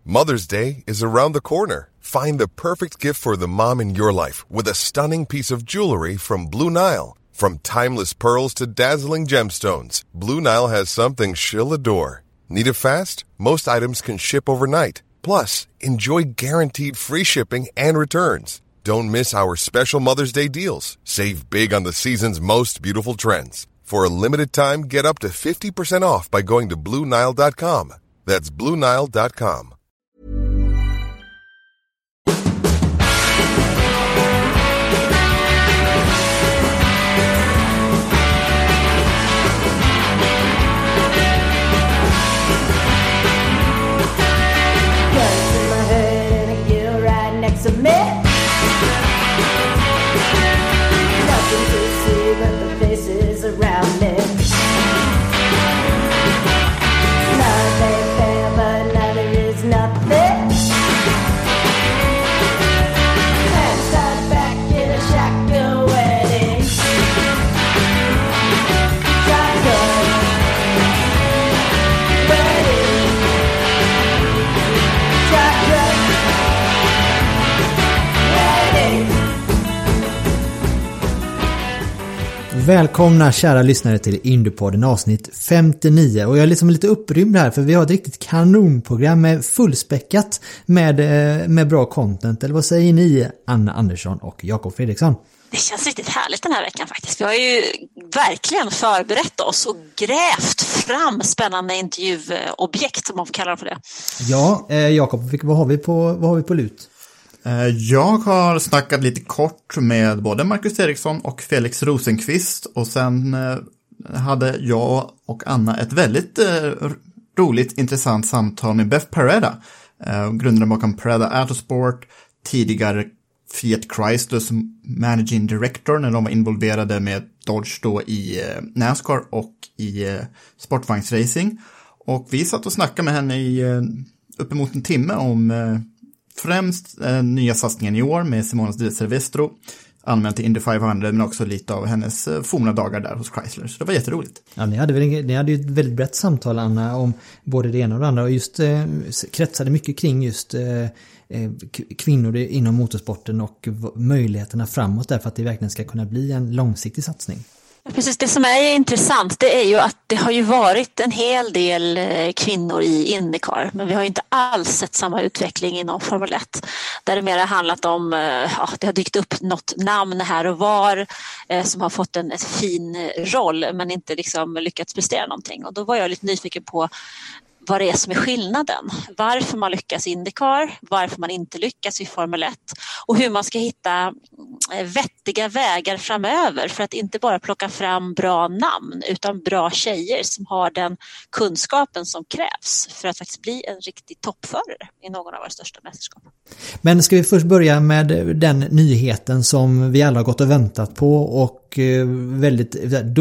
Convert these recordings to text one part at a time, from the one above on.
Mother's Day is around the corner. Find the perfect gift for the mom in your life with a stunning piece of jewelry from Blue Nile. From timeless pearls to dazzling gemstones, Blue Nile has something she'll adore. Need it fast? Most items can ship overnight. Plus, enjoy guaranteed free shipping and returns. Don't miss our special Mother's Day deals. Save big on the season's most beautiful trends. For a limited time, get up to 50% off by going to BlueNile.com. That's BlueNile.com. Välkomna kära lyssnare till Indiepodden avsnitt 59 och jag är liksom lite upprymd här för vi har ett riktigt kanonprogram med fullspäckat med bra content. Eller vad säger ni, Anna Andersson och Jakob Fredriksson? Det känns riktigt härligt den här veckan faktiskt. Vi har ju verkligen förberett oss och grävt fram spännande intervjuobjekt, om man får kalla det för det. Ja, Jakob, vad har vi på lut? Jag har snackat lite kort med både Marcus Eriksson och Felix Rosenqvist och sen hade jag och Anna ett väldigt roligt, intressant samtal med Beth Pareda, grundaren bakom Pareda Autosport, tidigare Fiat Chrysler som managing director när de var involverade med Dodge då i NASCAR och i sportvagnsracing. Och vi satt och snackade med henne i uppemot en timme om främst nya satsningen i år med Simona Di Silvestro, använt till Indy 500, men också lite av hennes forna dagar där hos Chrysler. Så det var jätteroligt. Ja, ni hade ju ett väldigt brett samtal, Anna, om både det ena och det andra och just kretsade mycket kring just kvinnor inom motorsporten och möjligheterna framåt där för att det verkligen ska kunna bli en långsiktig satsning. Precis, det som är intressant det är ju att det har ju varit en hel del kvinnor i IndyCar, men vi har ju inte alls sett samma utveckling inom Formel 1 där det mer har handlat om det har dykt upp något namn här och var som har fått en fin roll men inte liksom lyckats prestera någonting, och då var jag lite nyfiken på vad det är som är skillnaden. Varför man lyckas i IndyCar, varför man inte lyckas i Formel 1 och hur man ska hitta vettiga vägar framöver för att inte bara plocka fram bra namn utan bra tjejer som har den kunskapen som krävs för att faktiskt bli en riktig toppförare i någon av våra största mästerskap. Men ska vi först börja med den nyheten som vi alla har gått och väntat på och väldigt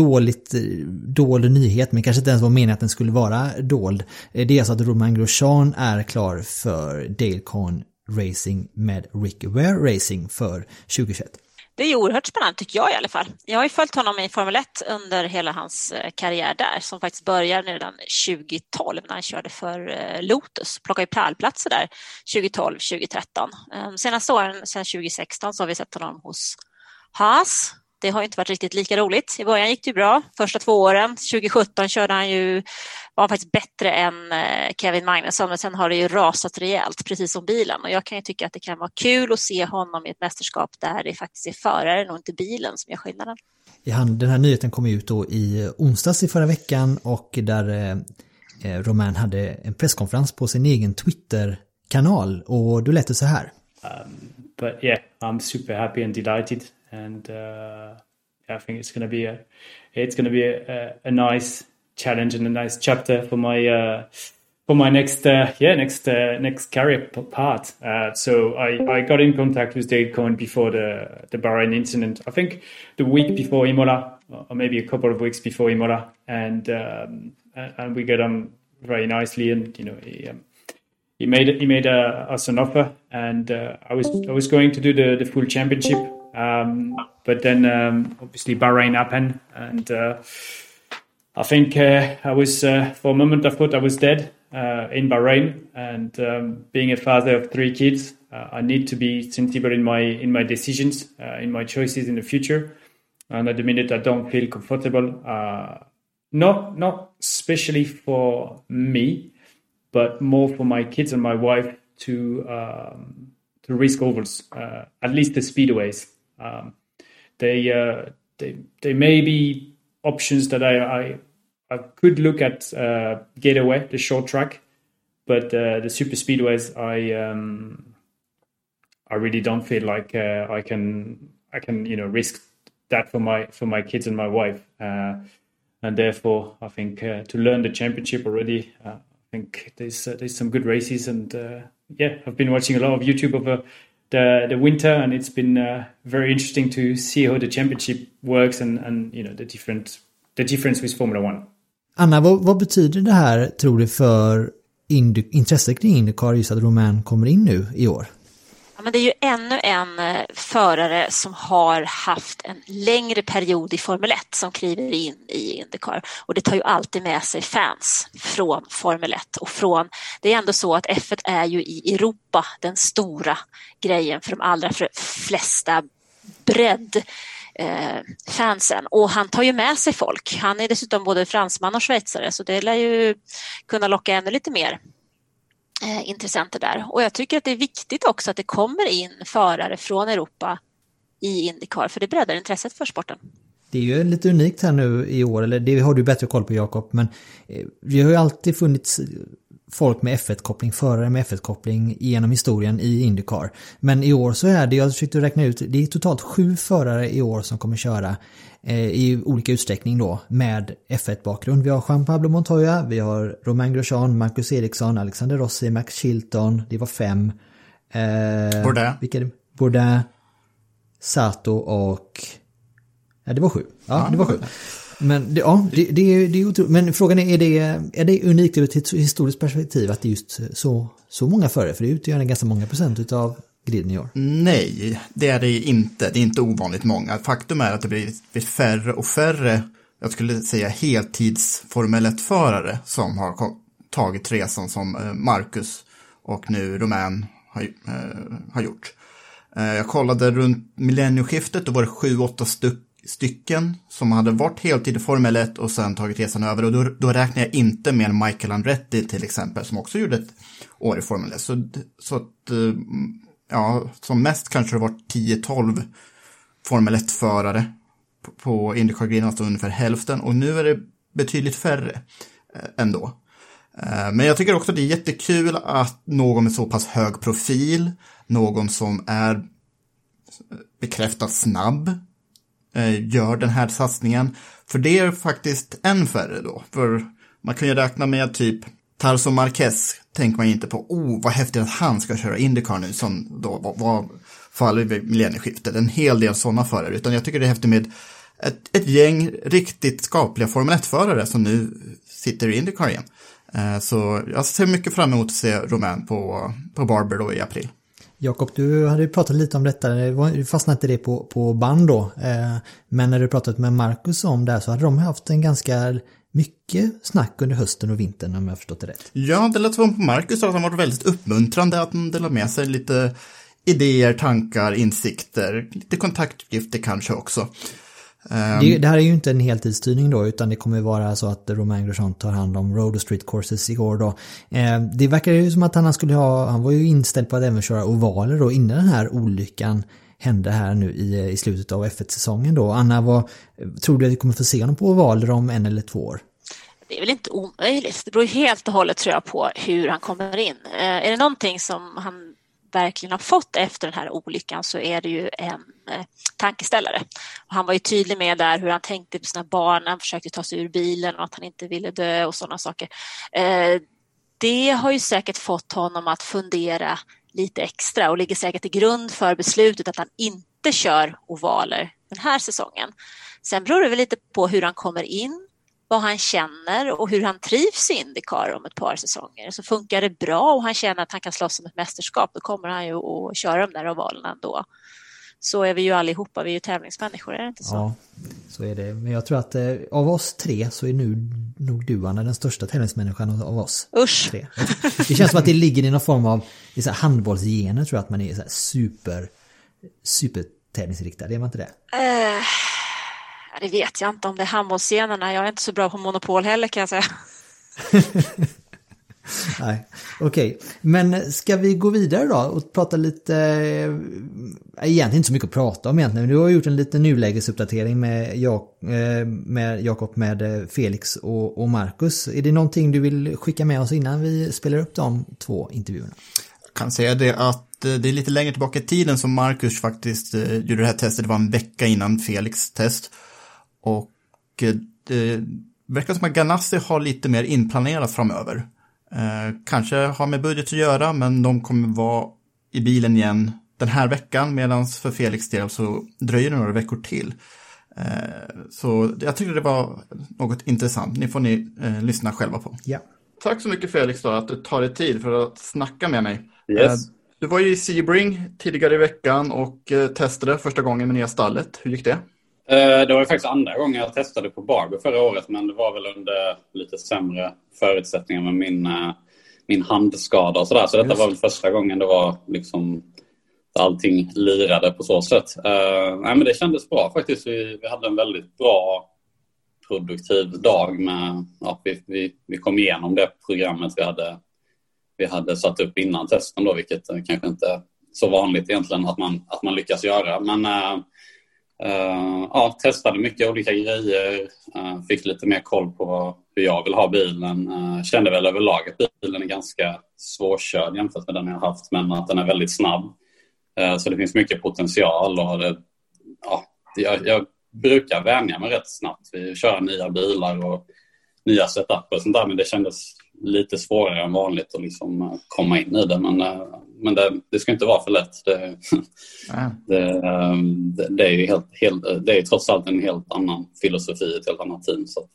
dålig nyhet, men kanske inte ens var meningen att den skulle vara dold. Det är alltså att Romain Grosjean är klar för Dale Coyne Racing med Rick Ware Racing för 2021. Det är oerhört spännande tycker jag i alla fall. Jag har ju följt honom i Formel 1 under hela hans karriär där, som faktiskt började redan 2012 när han körde för Lotus. Plockade ju pärlplatser där 2012-2013. Senaste åren, sedan 2016, så har vi sett honom hos Haas. Det har ju inte varit riktigt lika roligt. I början gick det ju bra. Första 2 åren, 2017 var han faktiskt bättre än Kevin Magnusson, men sen har det ju rasat rejält, precis som bilen. Och jag kan ju tycka att det kan vara kul att se honom i ett mästerskap där det faktiskt är föraren och inte bilen som gör skillnaden. Den här nyheten kom ut då i onsdags i förra veckan och där Romain hade en presskonferens på sin egen Twitter-kanal och då lät det så här. But yeah, I'm super happy and delighted. And I think it's going to be a nice challenge and a nice chapter for my next career part. So I got in contact with Dale Coyne before the Bahrain incident. I think the week before Imola, or maybe a couple of weeks before Imola, and we got on very nicely. And you know, he made us an offer, and I was going to do the full championship. But then obviously Bahrain happened, and I think I was for a moment I thought I was dead. in Bahrain, and being a father of 3 kids, I need to be sensible in my decisions, in my choices in the future. And at the minute, I don't feel comfortable. Not especially for me, but more for my kids and my wife to risk ovals, at least the speedways. They may be options that I could look at Gateway, the short track, but the super speedways, I really don't feel like I can risk that for my kids and my wife, and therefore I think to learn the championship already, I think there's some good races, and I've been watching a lot of YouTube over the winter, and it's been very interesting to see how the championship works and the difference with Formula 1. Anna, vad betyder det här, tror du, för intresset kring IndyCar, just att Romain kommer in nu i år? Ja, men det är ju ännu en förare som har haft en längre period i Formel 1 som kliver in i IndyCar. Och det tar ju alltid med sig fans från Formel 1. Det är ändå så att F1 är ju i Europa den stora grejen för de allra flesta fansen, och han tar ju med sig folk. Han är dessutom både fransman och schweizare, så det lär ju kunna locka ännu lite mer intressenter där. Och jag tycker att det är viktigt också att det kommer in förare från Europa i IndyCar, för det breddar intresset för sporten. Det är ju lite unikt här nu i år, eller det har du bättre koll på, Jakob, men det har ju alltid funnits folk med F1-koppling, förare med F1-koppling genom historien i IndyCar. Men i år så är det, jag försökte räkna ut, det är totalt 7 förare i år som kommer köra i olika utsträckning då med F1-bakgrund. Vi har Juan Pablo Montoya, vi har Romain Grosjean, Marcus Ericsson, Alexander Rossi, Max Chilton, det var 5. Bourdais, Sato och... Ja, det var 7. Ja, det var 7. Men det är otroligt. Men frågan är det unikt ur ett historiskt perspektiv att det är just så många förare? För det utgör ganska många procent av griden i år. Nej, det är det inte. Det är inte ovanligt många. Faktum är att det blir färre och färre, jag skulle säga heltids Formel 1-förare som har tagit resan som Marcus och nu Romain har gjort. Jag kollade runt millennieskiftet, då var det 7-8 stycken som hade varit heltid i Formel 1 och sen tagit resan över, och då räknar jag inte med Michael Andretti till exempel, som också gjorde ett år i Formel 1. Så att som mest kanske det varit 10-12 Formel 1-förare på IndyCar-griden, alltså ungefär hälften, och nu är det betydligt färre ändå. Men jag tycker också att det är jättekul att någon med så pass hög profil, någon som är bekräftat snabb, gör den här satsningen. För det är faktiskt en färre då. För man kan ju räkna med typ Tarso Marquez, tänker man inte på, vad häftigt att han ska köra IndyCar nu, som då var fallet vid millennieskiftet. En hel del sådana förare. Utan jag tycker det är häftigt med ett gäng riktigt skapliga Formel 1-förare som nu sitter i IndyCar igen. Så jag ser mycket fram emot att se Romain på Barber då i april. Jakob, du hade ju pratat lite om detta, du fastnade inte det på band då, men när du pratat med Marcus om det här så hade de haft en ganska mycket snack under hösten och vintern, om jag har förstått det rätt. Ja, det lät som på Marcus att han var väldigt uppmuntrande, att han delade med sig lite idéer, tankar, insikter, lite kontaktuppgifter kanske också. Det här är ju inte en heltidsstyrning då, utan det kommer vara så att Romain Grosjean tar hand om road och street courses i år då. Det verkar ju som att han var ju inställd på att även köra ovaler då innan den här olyckan hände här nu i slutet av F1-säsongen då. Anna, tror du att vi kommer få se honom på ovaler om 1 eller 2 år? Det är väl inte omöjligt. Det beror helt och hållet, tror jag, på hur han kommer in. Är det någonting som han verkligen har fått efter den här olyckan, så är det ju en tankeställare. Och han var ju tydlig med där hur han tänkte på sina barn när han försökte ta sig ur bilen och att han inte ville dö och sådana saker. Det har ju säkert fått honom att fundera lite extra och ligger säkert till grund för beslutet att han inte kör ovaler den här säsongen. Sen beror det väl lite på hur han kommer in, vad han känner och hur han trivs i IndyCar om ett par säsonger. Så funkar det bra och han känner att han kan slåss om ett mästerskap, då kommer han ju att köra de där ovalerna ändå. så är vi ju allihopa, vi är ju tävlingsmänniskor, är det inte så? Ja, så är det. Men jag tror att av oss 3 så är nu nog du, Anna, den största tävlingsmänniskan av oss. Usch! 3. Det känns som att det ligger i någon form av så här handbollsgener, tror jag, att man är så här super tävlingsriktad. Är man inte det? Det vet jag inte om det är handbollsscenerna. Jag är inte så bra på Monopol heller, kan jag säga. Nej, okej. Men ska vi gå vidare då och prata lite, egentligen inte så mycket att prata om egentligen. Du har gjort en liten nulägesuppdatering med Jakob, med Felix och Marcus. Är det någonting du vill skicka med oss innan vi spelar upp de 2 intervjuerna? Jag kan säga det att det är lite längre tillbaka i tiden som Marcus faktiskt gjorde det här testet. Det var en vecka innan Felix test. Och det verkar som att Ganassi har lite mer inplanerat framöver. Kanske har med budget att göra, men de kommer vara i bilen igen den här veckan, medan för Felix del så dröjer det några veckor till. Så jag tycker det var något intressant. Ni får lyssna själva på. Ja. Tack så mycket, Felix, då, att du tar dig tid för att snacka med mig. Yes. Du var ju i Sebring tidigare i veckan och testade första gången med nya stallet. Hur gick det? Det var ju faktiskt andra gången jag testade på Barber förra året, men det var väl under lite sämre förutsättningar med min handskada och sådär. Så detta var väl första gången det var liksom allting lirade på så sätt. Nej, men det kändes bra faktiskt. Vi hade en väldigt bra produktiv dag med, vi kom igenom det programmet vi hade satt upp innan testen då, vilket kanske inte är så vanligt egentligen att man lyckas göra. Men testade mycket olika grejer, fick lite mer koll på hur jag vill ha bilen. Kände väl överlag att bilen är ganska svårkörd jämfört med den jag har haft, men att den är väldigt snabb. Så det finns mycket potential och jag brukar vänja mig rätt snabbt. Vi kör nya bilar och nya setup och sånt där, men det kändes lite svårare än vanligt att liksom komma in i det. Men det ska inte vara för lätt. Det är ju det är trots allt en helt annan filosofi, ett helt annat team. Så att,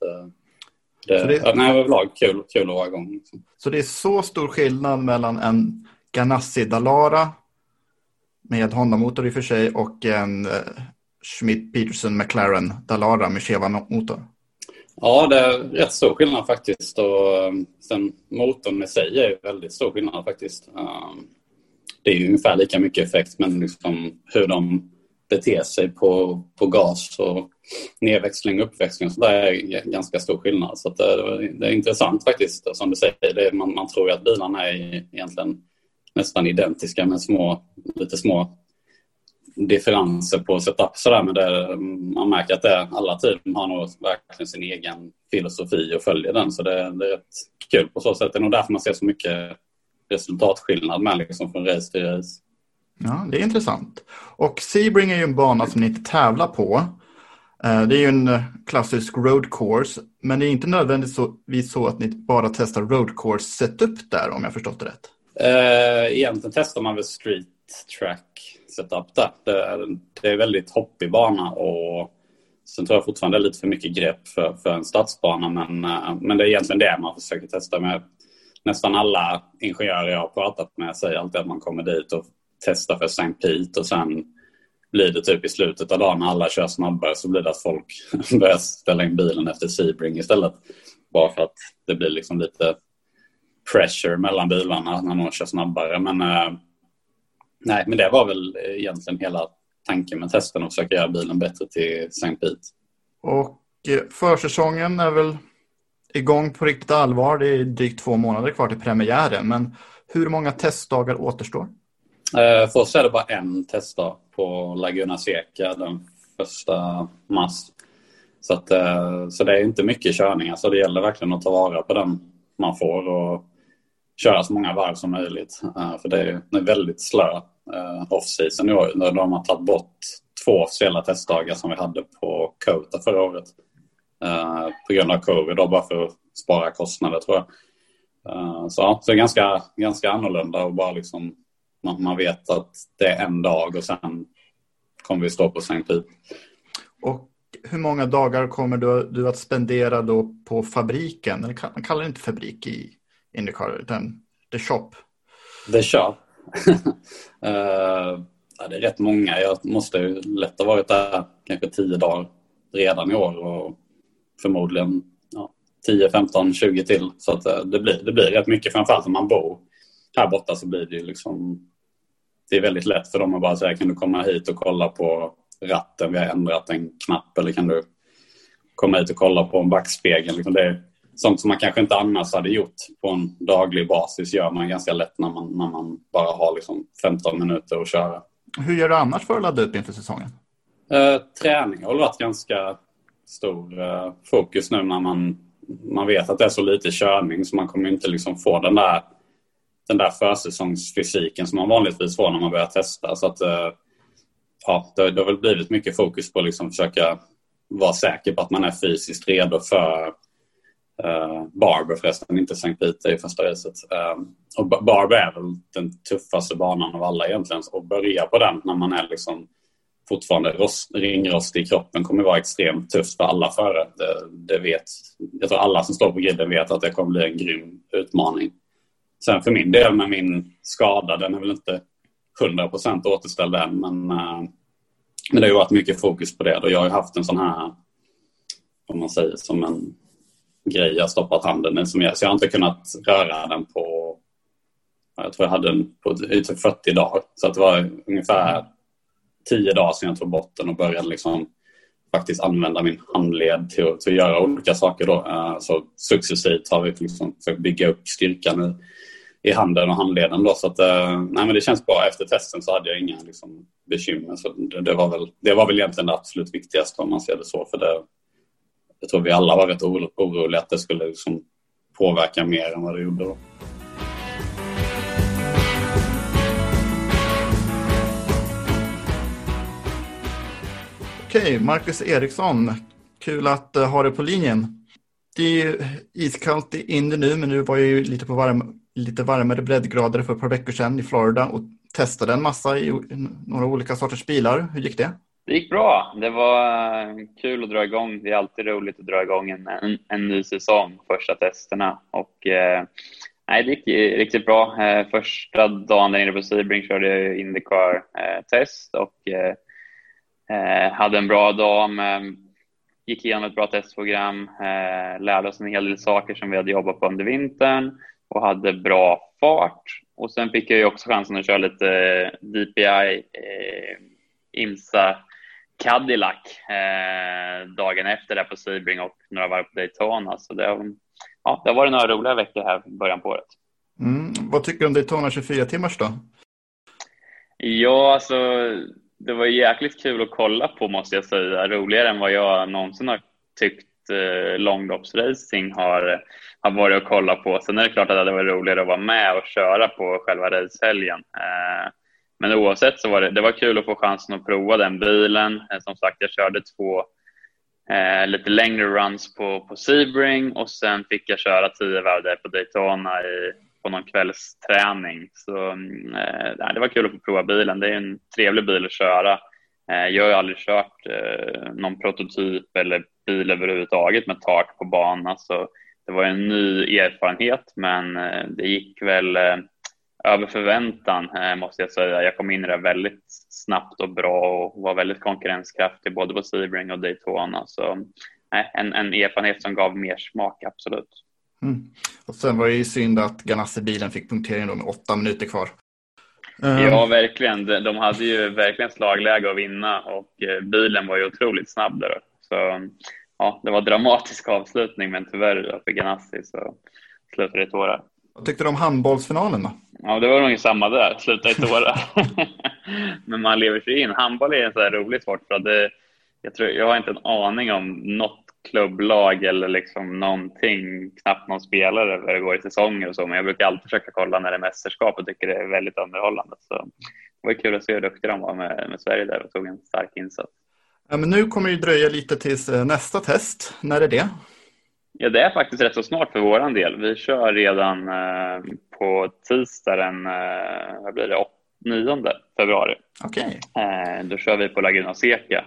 överlag kul att vara igång. Liksom. Så det är så stor skillnad mellan en Ganassi Dallara med Honda-motor i och för sig och en Schmidt-Peterson McLaren Dallara med Cheva-motor? Ja, det är rätt stor skillnad faktiskt. Och sen motorn i sig är väldigt stor skillnad faktiskt. Det är ju ungefär lika mycket effekt, men liksom hur de beter sig på gas och nedväxling och uppväxling och så där är ganska stor skillnad. Så att det är intressant faktiskt, som du säger. Man tror ju att bilarna är egentligen nästan identiska med lite små differenser på setup sådär, men man märker att alla team har nog verkligen sin egen filosofi och följer den, så det är rätt kul på så sätt. Det är nog därför man ser så mycket resultatskillnad med liksom från race till race. Ja, det är intressant. Och Sebring är ju en bana som ni inte tävlar på. Det är ju en klassisk road course, men det är inte nödvändigtvis så att ni bara testar road course setup där, om jag förstått det rätt. Egentligen testar man väl street track setup där. Det är väldigt hoppig bana, och sen tror jag fortfarande det är lite för mycket grepp för en stadsbana, men det är egentligen det man försöker testa med. Nästan alla ingenjörer jag har pratat med säger alltid att man kommer dit och testar för St. Pete, och sen blir det typ i slutet av dagen när alla kör snabbare så blir det att folk börjar ställa in bilen efter Sebring istället. Bara för att det blir liksom lite pressure mellan bilarna när någon kör snabbare. Men det var väl egentligen hela tanken med testen, att försöka göra bilen bättre till St. Pete. Och försäsongen är väl igång på riktigt allvar. Det är drygt 2 månader kvar till premiären. Men hur många testdagar återstår? För oss är det bara en testdag på Laguna Seca den 1 mars. Så det är inte mycket körning. Alltså det gäller verkligen att ta vara på den man får och köra så många varv som möjligt. För det är väldigt slö off-season i år. De har tagit bort 2 officiella testdagar som vi hade på Kota förra året. På grund av covid då, bara för att spara kostnader tror jag. Så det är ganska annorlunda, och bara liksom man vet att det är en dag och sen kommer vi stå på St. Pete. Och hur många dagar kommer du att spendera då på fabriken? Eller man kallar det inte fabrik i IndyCar, utan The Shop. The Shop. Ja, det är rätt många. Jag måste ju lätt ha varit där kanske 10 dagar redan i år och förmodligen 10, 15, 20 till. Så att det blir rätt mycket, framförallt om man bor här borta så blir det ju liksom, det är väldigt lätt för dem att bara säga, kan du komma hit och kolla på ratten, vi har ändrat en knapp, eller kan du komma hit och kolla på en backspegel. Liksom det är sånt som man kanske inte annars hade gjort på en daglig basis, gör man ganska lätt när man bara har liksom 15 minuter att köra. Hur gör du annars för att ladda upp inför säsongen? Träning har varit ganska stor fokus nu när man vet att det är så lite körning, så man kommer inte liksom få den där försäsongsfysiken som man vanligtvis får när man börjar testa. Så att det har väl blivit mycket fokus på att liksom försöka vara säker på att man är fysiskt redo för Barber, förresten, inte St. Peter i första racet. Och Barber är väl den tuffaste banan av alla egentligen, och börja på den när man är liksom fortfarande ringrostig i kroppen kommer vara extremt tufft för alla förare. Det vet, jag tror alla som står på griden vet att det kommer bli en grym utmaning. Sen för min del med min skada, den är väl inte 100% återställd än, men det har ju varit mycket fokus på det. Och jag har ju haft en sån här, om man säger, som en grej jag stoppat handen i, så jag har inte kunnat röra den på, jag tror jag hade den på typ 40 dagar. Så att det var ungefär 10 dagar sedan jag tog bort den och började liksom faktiskt använda min handled till att göra olika saker då. Så successivt har vi liksom försökt bygga upp styrkan i handen och handleden då. Så att, nej, men det känns bra. Efter testen så hade jag inga liksom bekymmer. Så det var väl egentligen det absolut viktigaste, om man ser det så. För jag tror vi alla var rätt oroliga att det skulle liksom påverka mer än vad det gjorde då. Okej, Marcus Eriksson. Kul att ha dig på linjen. Det är ju iskallt i Indy nu, men nu var jag ju lite varmare breddgrader för ett par veckor sedan i Florida och testade en massa i några olika sorters bilar. Hur gick det? Det gick bra. Det var kul att dra igång. Det är alltid roligt att dra igång en ny säsong, första testerna. Och nej, det gick riktigt bra. Första dagen där inne på Sebring körde jag IndyCar-test och hade en bra dag. Gick igenom ett bra testprogram, lärde oss en hel del saker som vi hade jobbat på under vintern och hade bra fart. Och sen fick jag ju också chansen att köra lite DPI IMSA Cadillac dagen efter där på Sebring och några varv på Daytona. Så det har varit några roliga veckor här i början på året. Vad tycker du om Daytona 24 timmars då? Ja, alltså det var jäkligt kul att kolla på, måste jag säga. Roligare än vad jag någonsin har tyckt långloppsracing har varit att kolla på. Sen är det klart att det var roligare att vara med och köra på själva racehelgen. Men oavsett så det var kul att få chansen att prova den bilen. Som sagt, jag körde 2 lite längre runs på Sebring och sen fick jag köra 10 varv där på Daytona på någon kvällsträning. Så det var kul att få prova bilen. Det är en trevlig bil att köra. Jag har ju aldrig kört någon prototyp eller bil överhuvudtaget med tak på banan. Så det var en ny erfarenhet, men det gick väl över förväntan, måste jag säga. Jag kom in i det väldigt snabbt och bra och var väldigt konkurrenskraftig både på Sebring och Daytona. Så en erfarenhet som gav mer smak, absolut. Och sen var det ju synd att Ganassi-bilen fick punktering då med 8 minuter kvar. Ja, verkligen. De hade ju verkligen slagläge att vinna och bilen var ju otroligt snabb där. Så ja, det var en dramatisk avslutning, men tyvärr för Ganassi så slutade det i tårar. Vad tyckte du om handbollsfinalen då? Ja, det var nog samma där. Sluta i tårar. Men man lever sig in. Handboll är en så här rolig sport. För att jag har inte en aning om något klubblag eller liksom någonting, knappt någon spelare vad det går i säsonger och så. Men jag brukar alltid försöka kolla när det är mästerskap och tycker det är väldigt underhållande. Så det var kul att se hur duktiga de var med Sverige där och tog en stark insats. Ja, men nu kommer det dröja lite tills nästa test. När är det? Ja, det är faktiskt rätt så snart för våran del. Vi kör redan på tisdag den 9 februari. Okej. Då kör vi på Laguna Seca.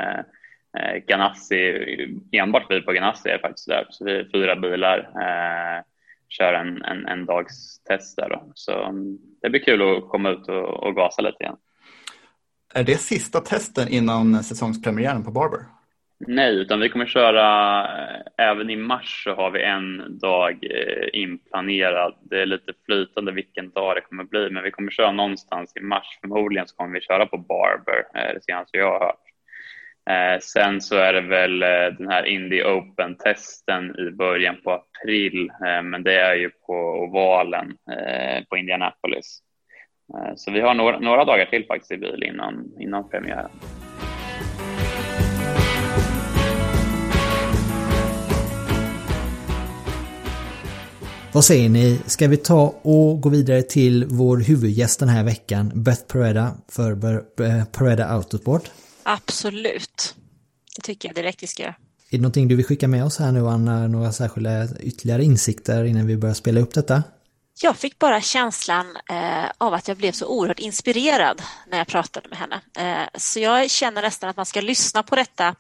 Ganassi, enbart vi på Ganassi är faktiskt där. Så vi är 4 bilar. Kör en dags test där då. Så det blir kul att komma ut och gasa lite igen. Är det sista testen innan säsongspremiären på Barber? Nej, utan vi kommer köra även i mars, så har vi en dag inplanerad. Det är lite flytande vilken dag det kommer bli, men vi kommer köra någonstans i mars. Förmodligen så kommer vi köra på Barber, det senaste jag har hört. Sen så är det väl den här Indy Open-testen i början på april, men det är ju på ovalen på Indianapolis. Så vi har några dagar till faktiskt i bil innan premiären. Vad säger ni? Ska vi ta och gå vidare till vår huvudgäst den här veckan, Beth Pereda för Pereda Autosport? Absolut. Det tycker jag direkt vi ska göra. Är det någonting du vill skicka med oss här nu, Anna? Några särskilda ytterligare insikter innan vi börjar spela upp detta? Jag fick bara känslan av att jag blev så oerhört inspirerad när jag pratade med henne. Så jag känner nästan att man ska lyssna på detta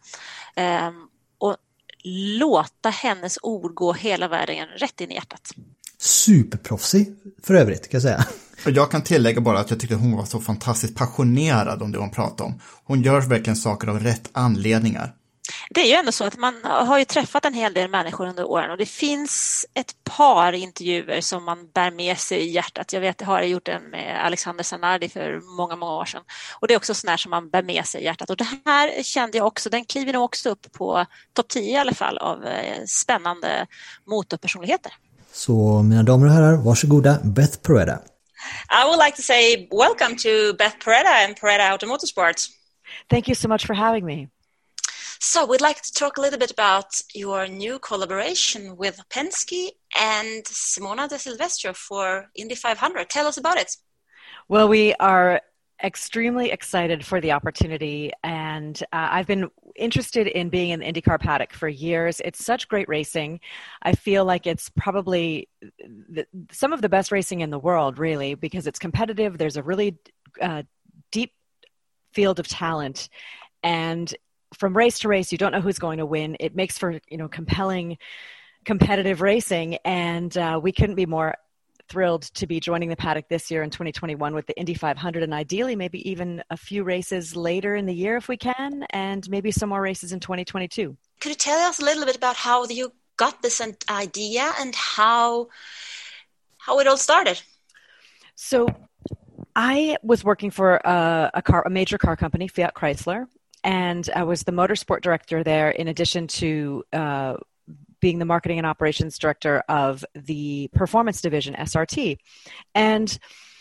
och låta hennes ord gå hela vägen rätt in i hjärtat. Superproffsig för övrigt, kan jag säga. Och jag kan tillägga bara att jag tyckte hon var så fantastiskt passionerad om det hon pratade om. Hon gör verkligen saker av rätt anledningar. Det är ju ändå så att man har ju träffat en hel del människor under åren, och det finns ett par intervjuer som man bär med sig i hjärtat. Jag vet, jag har gjort en med Alexander Zanardi för många år sedan, och det är också sån här som man bär med sig i hjärtat. Och det här kände jag också, den kliver nog också upp på topp 10 i alla fall av spännande motorpersonligheter. Så mina damer och herrar, varsågoda, Beth Pereda. I would like to say welcome to Beth Pereda and Pereda Automotorsports. Thank you so much for having me. So we'd like to talk a little bit about your new collaboration with Penske and Simona de Silvestro for Indy 500. Tell us about it. Well, we are extremely excited for the opportunity, and I've been interested in being in the IndyCar paddock for years. It's such great racing. I feel like it's probably some of the best racing in the world, really, because it's competitive. There's a really deep field of talent, and from race to race, you don't know who's going to win. It makes for, compelling, competitive racing, and we couldn't be more thrilled to be joining the paddock this year in 2021 with the Indy 500, and ideally maybe even a few races later in the year if we can, and maybe some more races in 2022. Could you tell us a little bit about how you got this idea and how it all started? So I was working for a major car company, Fiat Chrysler, and I was the motorsport director there in addition to being the marketing and operations director of the performance division, SRT. And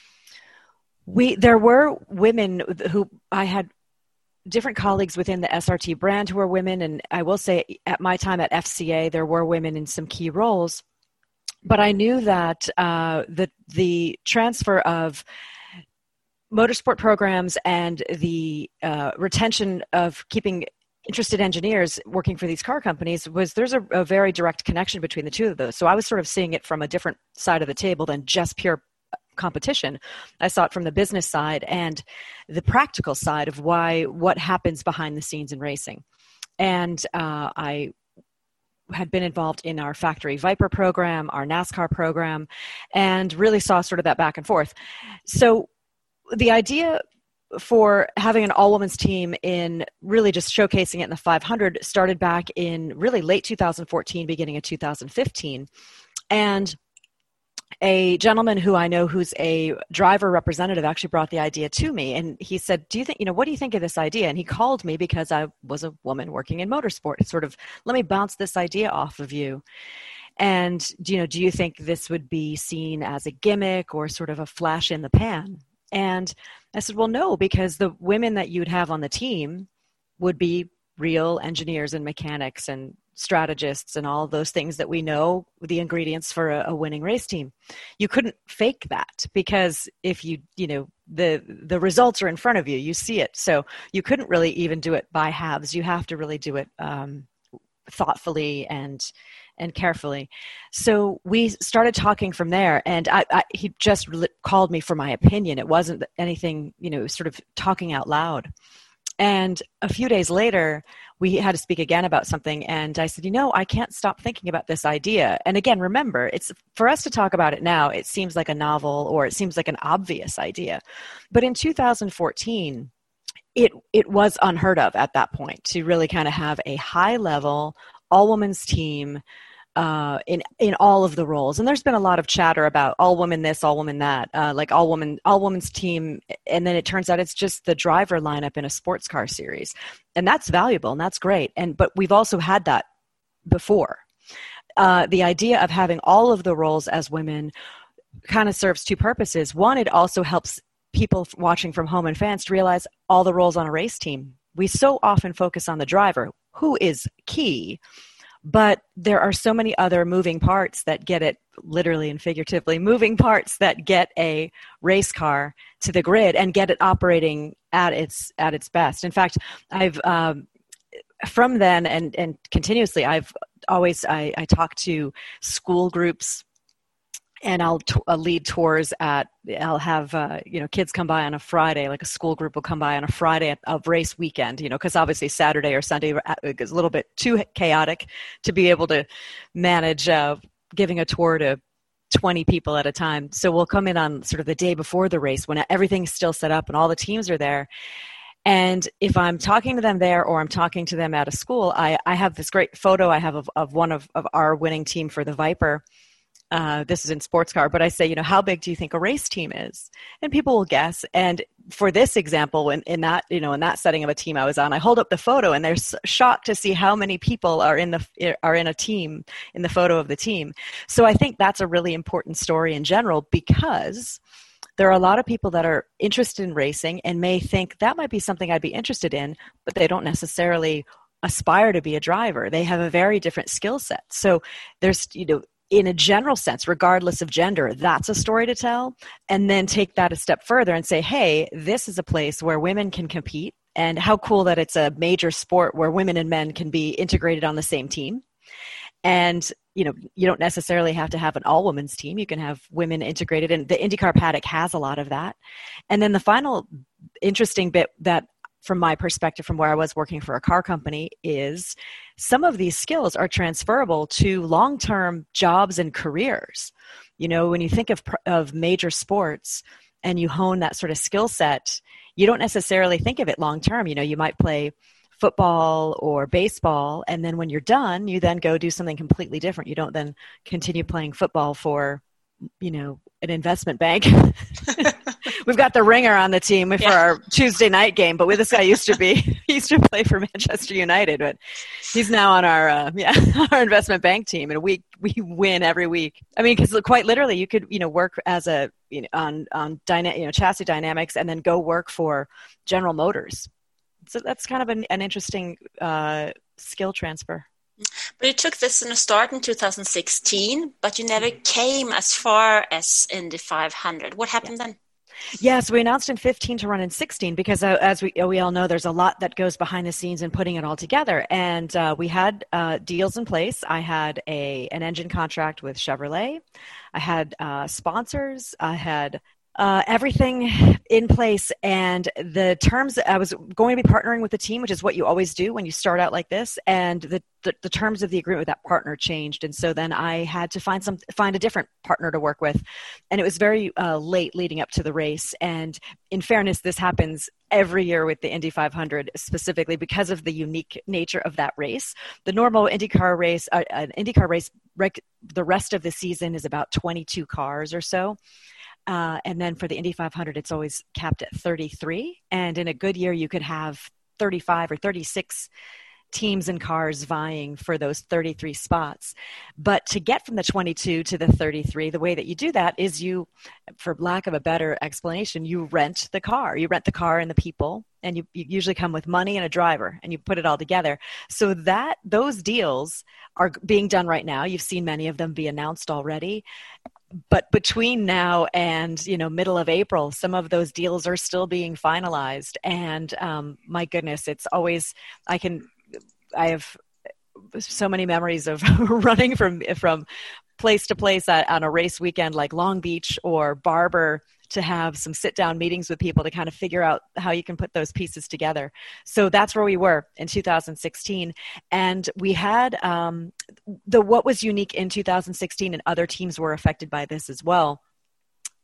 there were women who I had different colleagues within the SRT brand who were women. And I will say at my time at FCA, there were women in some key roles. But I knew that the transfer of motorsport programs and the retention of keeping interested engineers working for these car companies there's a very direct connection between the two of those. So I was sort of seeing it from a different side of the table than just pure competition. I saw it from the business side and the practical side of what happens behind the scenes in racing. And I had been involved in our Factory Viper program, our NASCAR program, and really saw sort of that back and forth. So the idea for having an all-women's team in really just showcasing it in the 500 started back in really late 2014, beginning of 2015. And a gentleman who I know who's a driver representative actually brought the idea to me. And he said, what do you think of this idea? And he called me because I was a woman working in motorsport. Sort of, let me bounce this idea off of you. And, do you think this would be seen as a gimmick or sort of a flash in the pan? And I said, well, no, because the women that you'd have on the team would be real engineers and mechanics and strategists and all those things that we know, the ingredients for a winning race team. You couldn't fake that because if the results are in front of you, you see it. So you couldn't really even do it by halves. You have to really do it thoughtfully and carefully. So we started talking from there, and he just called me for my opinion. It wasn't anything, sort of talking out loud. And a few days later, we had to speak again about something, and I said, I can't stop thinking about this idea. And again, remember, it's for us to talk about it now, it seems like a novel or it seems like an obvious idea. But in 2014, it was unheard of at that point to really kind of have a high level all women's team in all of the roles. And there's been a lot of chatter about all women this, all women that, like all women's team. And then it turns out it's just the driver lineup in a sports car series. And that's valuable and that's great. But we've also had that before. The idea of having all of the roles as women kind of serves two purposes. One, it also helps people watching from home and fans to realize all the roles on a race team. We so often focus on the driver, who is key, but there are so many other moving parts that get it, literally and figuratively, moving parts that get a race car to the grid and get it operating at its best. In fact, I've from then and continuously, I talk to school groups. And I'll lead tours I'll have, kids come by on a Friday, like a school group will come by on a Friday of race weekend, because obviously Saturday or Sunday is a little bit too chaotic to be able to manage giving a tour to 20 people at a time. So we'll come in on sort of the day before the race when everything's still set up and all the teams are there. And if I'm talking to them there or I'm talking to them at a school, I have this great photo I have of one of our winning team for the Viper. This is in sports car, but I say, how big do you think a race team is? And people will guess. And for this example, in that setting of a team I was on, I hold up the photo and they're shocked to see how many people are in a team, in the photo of the team. So I think that's a really important story in general, because there are a lot of people that are interested in racing and may think that might be something I'd be interested in, but they don't necessarily aspire to be a driver. They have a very different skill set. So there's, in a general sense, regardless of gender, that's a story to tell. And then take that a step further and say, hey, this is a place where women can compete, and how cool that it's a major sport where women and men can be integrated on the same team. And, you don't necessarily have to have an all-women's team. You can have women integrated, and the IndyCar paddock has a lot of that. And then the final interesting bit that, from my perspective, from where I was working for a car company, is some of these skills are transferable to long-term jobs and careers. When you think of major sports and you hone that sort of skill set, you don't necessarily think of it long-term. You might play football or baseball, and then when you're done, you then go do something completely different. You don't then continue playing football for, an investment bank. We've got the Ringer on the team for our Tuesday night game, but this guy used to play for Manchester United, but he's now on our our investment bank team, and we win every week. I mean, because quite literally, you could work as on chassis dynamics, and then go work for General Motors. So that's kind of an interesting skill transfer. But you took this in a start in 2016, but you never came as far as Indy 500. What happened then? Yeah, so we announced in 15 to run in 16 because, as we all know, there's a lot that goes behind the scenes in putting it all together. And we had deals in place. I had an engine contract with Chevrolet. I had sponsors. I had everything in place, and the terms, I was going to be partnering with the team, which is what you always do when you start out like this, and the terms of the agreement with that partner changed, and so then I had to find a different partner to work with, and it was very late leading up to the race. And in fairness, this happens every year with the Indy 500, specifically because of the unique nature of that race. The normal IndyCar race, the rest of the season is about 22 cars or so. And then for the Indy 500, it's always capped at 33. And in a good year, you could have 35 or 36 teams and cars vying for those 33 spots. But to get from the 22 to the 33, the way that you do that is you, for lack of a better explanation, you rent the car. You rent the car and the people, and you usually come with money and a driver, and you put it all together. So those deals are being done right now. You've seen many of them be announced already. But between now and, middle of April, some of those deals are still being finalized. And my goodness, it's always, I have so many memories of running from place to place on a race weekend like Long Beach or Barber, to have some sit-down meetings with people to kind of figure out how you can put those pieces together. So that's where we were in 2016. And we had what was unique in 2016, and other teams were affected by this as well,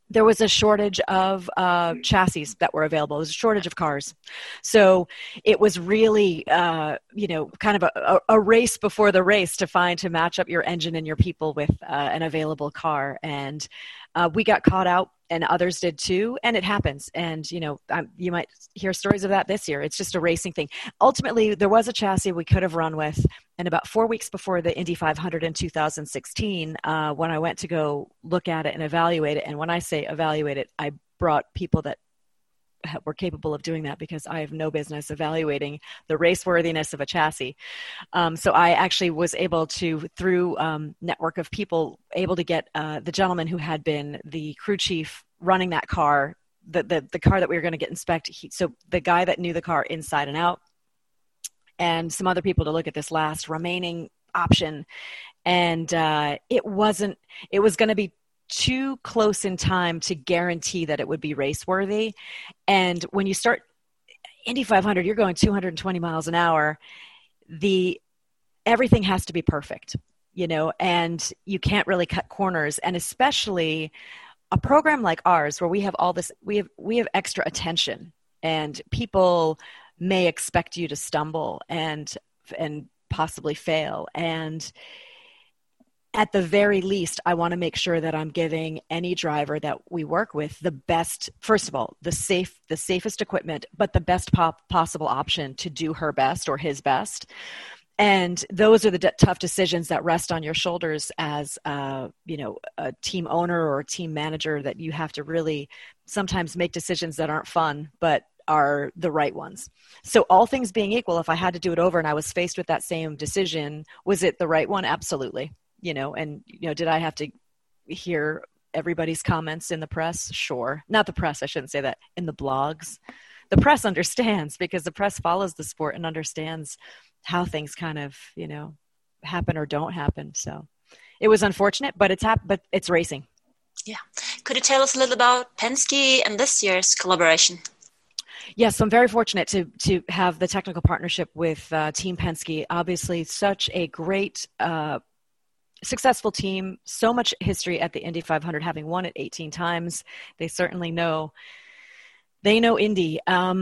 there was a shortage of chassis that were available. There was a shortage of cars. So it was really, kind of a race before the race to match up your engine and your people with an available car. And we got caught out, and others did too. And it happens. And, you might hear stories of that this year. It's just a racing thing. Ultimately, there was a chassis we could have run with. And about 4 weeks before the Indy 500 in 2016, when I went to go look at it and evaluate it, and when I say evaluate it, I brought people that were capable of doing that, because I have no business evaluating the raceworthiness of a chassis. So I actually was able to, through network of people, able to get the gentleman who had been the crew chief running that car, the car that we were going to get inspected. So the guy that knew the car inside and out, and some other people to look at this last remaining option. And it was going to be too close in time to guarantee that it would be race worthy. And when you start Indy 500, you're going 220 miles an hour. Everything has to be perfect, and you can't really cut corners. And especially a program like ours, where we have all this, we have extra attention, and people may expect you to stumble and possibly fail. And at the very least, I want to make sure that I'm giving any driver that we work with the best, first of all, the safest equipment, but the best possible option to do her best or his best. And those are the tough decisions that rest on your shoulders as, a team owner or a team manager, that you have to really sometimes make decisions that aren't fun, but are the right ones. So all things being equal, if I had to do it over and I was faced with that same decision, was it the right one? Absolutely. Did I have to hear everybody's comments in the press? Sure. Not the press, I shouldn't say that. In the blogs. The press understands, because the press follows the sport and understands how things kind of, happen or don't happen. So it was unfortunate, but it's racing. Yeah. Could you tell us a little about Penske and this year's collaboration? Yes, so I'm very fortunate to have the technical partnership with Team Penske. Obviously, such a great successful team, so much history at the Indy 500, having won it 18 times. They certainly know Indy.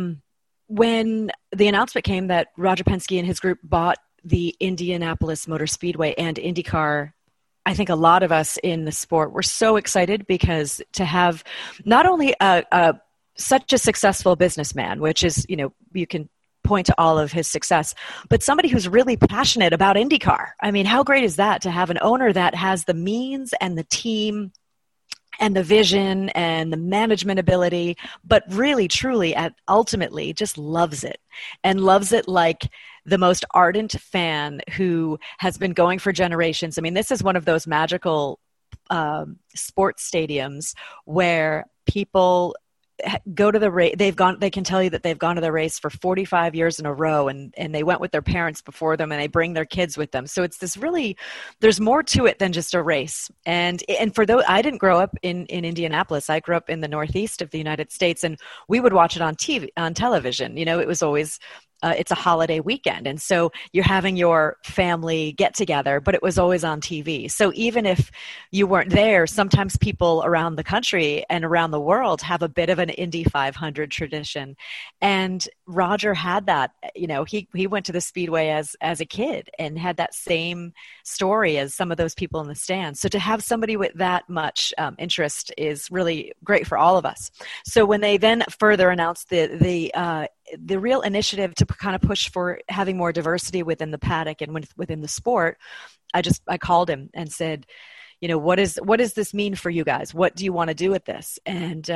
When the announcement came that Roger Penske and his group bought the Indianapolis Motor Speedway and IndyCar, I think a lot of us in the sport were so excited, because to have not only such a successful businessman, which is, you can point to all of his success, but somebody who's really passionate about IndyCar. I mean, how great is that, to have an owner that has the means and the team and the vision and the management ability, but really, truly, ultimately just loves it, and loves it like the most ardent fan who has been going for generations. I mean, this is one of those magical sports stadiums where people go to the race. They can tell you that they've gone to the race for 45 years in a row, and they went with their parents before them, and they bring their kids with them. So it's this really, there's more to it than just a race. And for those, I didn't grow up in Indianapolis. I grew up in the Northeast of the United States, and we would watch it on television. It was always, it's a holiday weekend. And so you're having your family get together, but it was always on TV. So even if you weren't there, sometimes people around the country and around the world have a bit of an Indy 500 tradition. And Roger had that, he went to the Speedway as a kid and had that same story as some of those people in the stands. So to have somebody with that much interest is really great for all of us. So when they then further announced the real initiative to kind of push for having more diversity within the paddock and within the sport, I called him and said, what does this mean for you guys? What do you want to do with this? And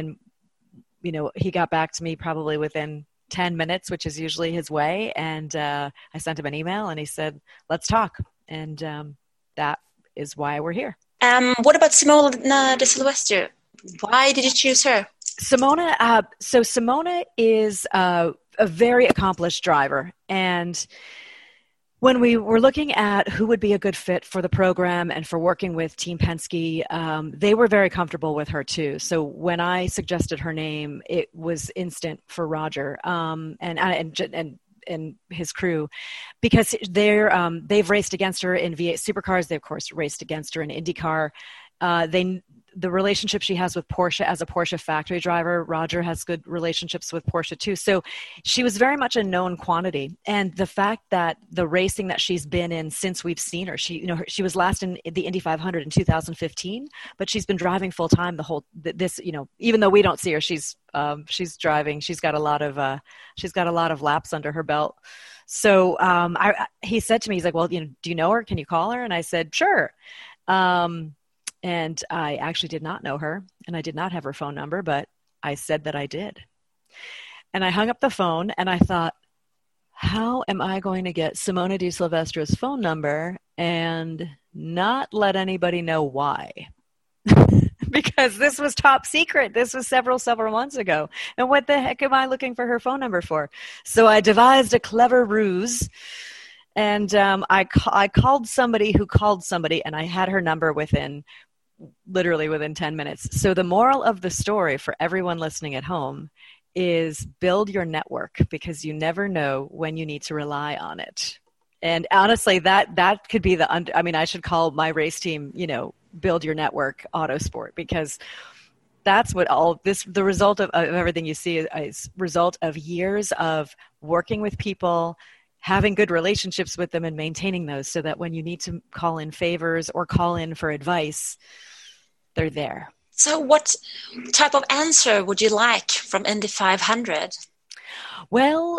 he got back to me probably within 10 minutes, which is usually his way. And I sent him an email, and he said, let's talk. And that is why we're here. What about Simona de Silvestro? Why did you choose her? Simona is a very accomplished driver. And when we were looking at who would be a good fit for the program and for working with Team Penske, they were very comfortable with her too. So when I suggested her name, it was instant for Roger and his crew, because they've raced against her in V8 Supercars. They of course raced against her in IndyCar. the relationship she has with Porsche as a Porsche factory driver. Roger has good relationships with Porsche too. So she was very much a known quantity. And the fact that the racing that she's been in since we've seen her, she was last in the Indy 500 in 2015, but she's been driving full time even though we don't see her, she's driving. She's got a lot of laps under her belt. So he said to me, he's like, well, do you know her? Can you call her? And I said, sure. And I actually did not know her, and I did not have her phone number, but I said that I did. And I hung up the phone, and I thought, how am I going to get Simona Di Silvestro's phone number and not let anybody know why? Because this was top secret. This was several months ago. And what the heck am I looking for her phone number for? So I devised a clever ruse. And I called somebody who called somebody, and I had her number literally within 10 minutes. So the moral of the story for everyone listening at home is build your network, because you never know when you need to rely on it. And honestly, that could be I should call my race team, build your network Autosport, because that's what the result of everything you see is result of years of working with people, having good relationships with them and maintaining those, so that when you need to call in favors or call in for advice, they're there. So what type of answer would you like from Indy 500? Well,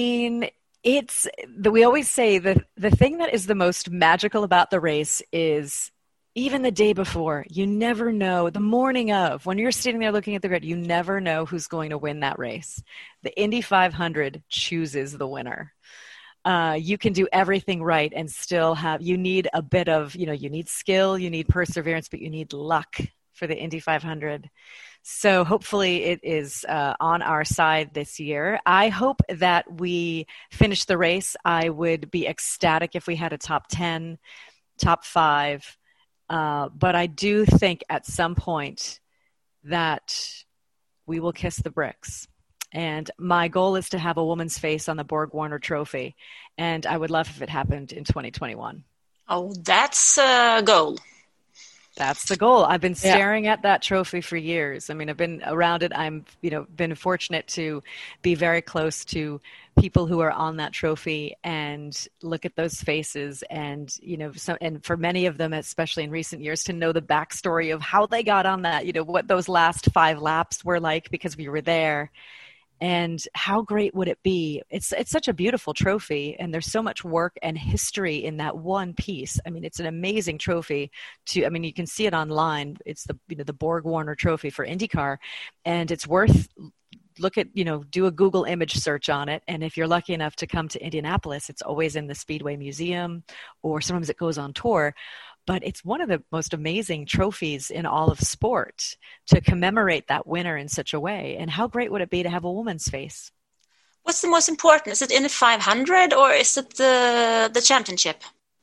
we always say that the thing that is the most magical about the race is even the day before, you never know. The morning of, when you're sitting there looking at the grid, you never know who's going to win that race. The Indy 500 chooses the winner. You can do everything right and still you need a bit of, you need skill, you need perseverance, but you need luck for the Indy 500. So hopefully it is on our side this year. I hope that we finish the race. I would be ecstatic if we had a top 10, top 5. But I do think at some point that we will kiss the bricks. And my goal is to have a woman's face on the Borg Warner Trophy. And I would love if it happened in 2021. Oh, that's a goal. That's the goal. I've been staring at that trophy for years. I've been around it. I'm, been fortunate to be very close to people who are on that trophy and look at those faces and, and for many of them, especially in recent years, to know the backstory of how they got on that, what those last 5 laps were like, because we were there. And how great would it be? It's such a beautiful trophy, and there's so much work and history in that one piece. It's an amazing trophy. You can see it online. It's the Borg Warner Trophy for IndyCar, and it's worth do a Google image search on it. And if you're lucky enough to come to Indianapolis, it's always in the Speedway Museum, or sometimes it goes on tour. But it's one of the most amazing trophies in all of sport to commemorate that winner in such a way. And how great would it be to have a woman's face? What's the most important? Is it Indy 500 or is it the championship?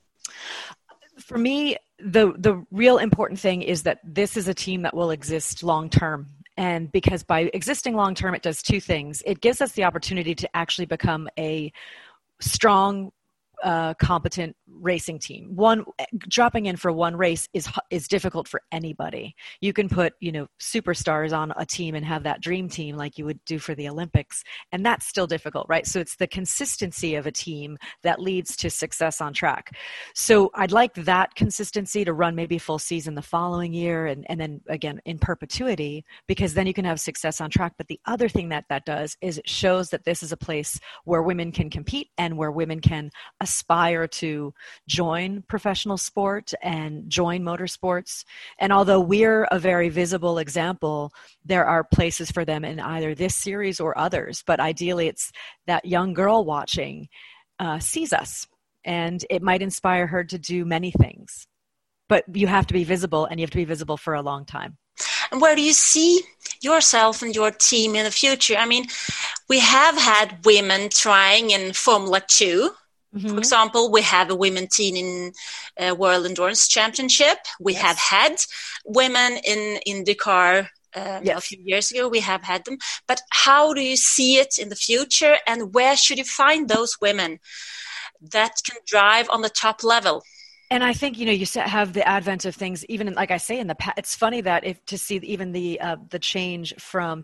For me, the real important thing is that this is a team that will exist long term. And because by existing long term, it does 2 things. It gives us the opportunity to actually become a strong, competent racing team. Dropping in for one race is difficult for anybody. You can put, superstars on a team and have that dream team like you would do for the Olympics, and that's still difficult, right? So it's the consistency of a team that leads to success on track. So I'd like that consistency to run maybe full season the following year, and then again in perpetuity, because then you can have success on track. But the other thing that does is it shows that this is a place where women can compete and where women can aspire to join professional sport and join motorsports. And although we're a very visible example, there are places for them in either this series or others. But ideally, it's that young girl watching sees us, and it might inspire her to do many things. But you have to be visible, and you have to be visible for a long time. And where do you see yourself and your team in the future? We have had women trying in Formula 2. Mm-hmm. For example, we have a women team in World Endurance Championship. We have had women in IndyCar a few years ago. We have had them. But how do you see it in the future? And where should you find those women that can drive on the top level? And I think, you have the advent of things, even like I say in the past, it's funny that to see even the change from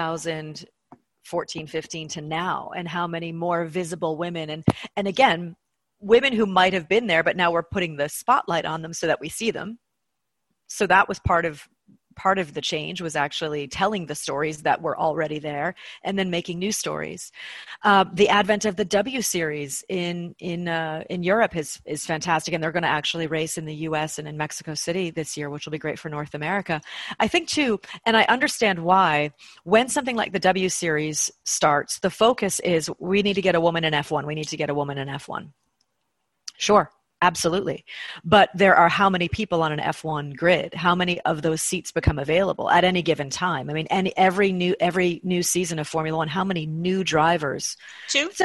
2014, 15 to now, and how many more visible women and again, women who might have been there, but now we're putting the spotlight on them so that we see them. So that was part of the change, was actually telling the stories that were already there and then making new stories. The advent of the W Series in Europe is fantastic, and they're going to actually race in the US and in Mexico City this year, which will be great for North America. I think too, and I understand why, when something like the W Series starts, the focus is we need to get a woman in F1. We need to get a woman in F1. Sure. Absolutely. But there are how many people on an F1 grid? How many of those seats become available at any given time? I mean, every new season of Formula One, how many new drivers? 2. It's a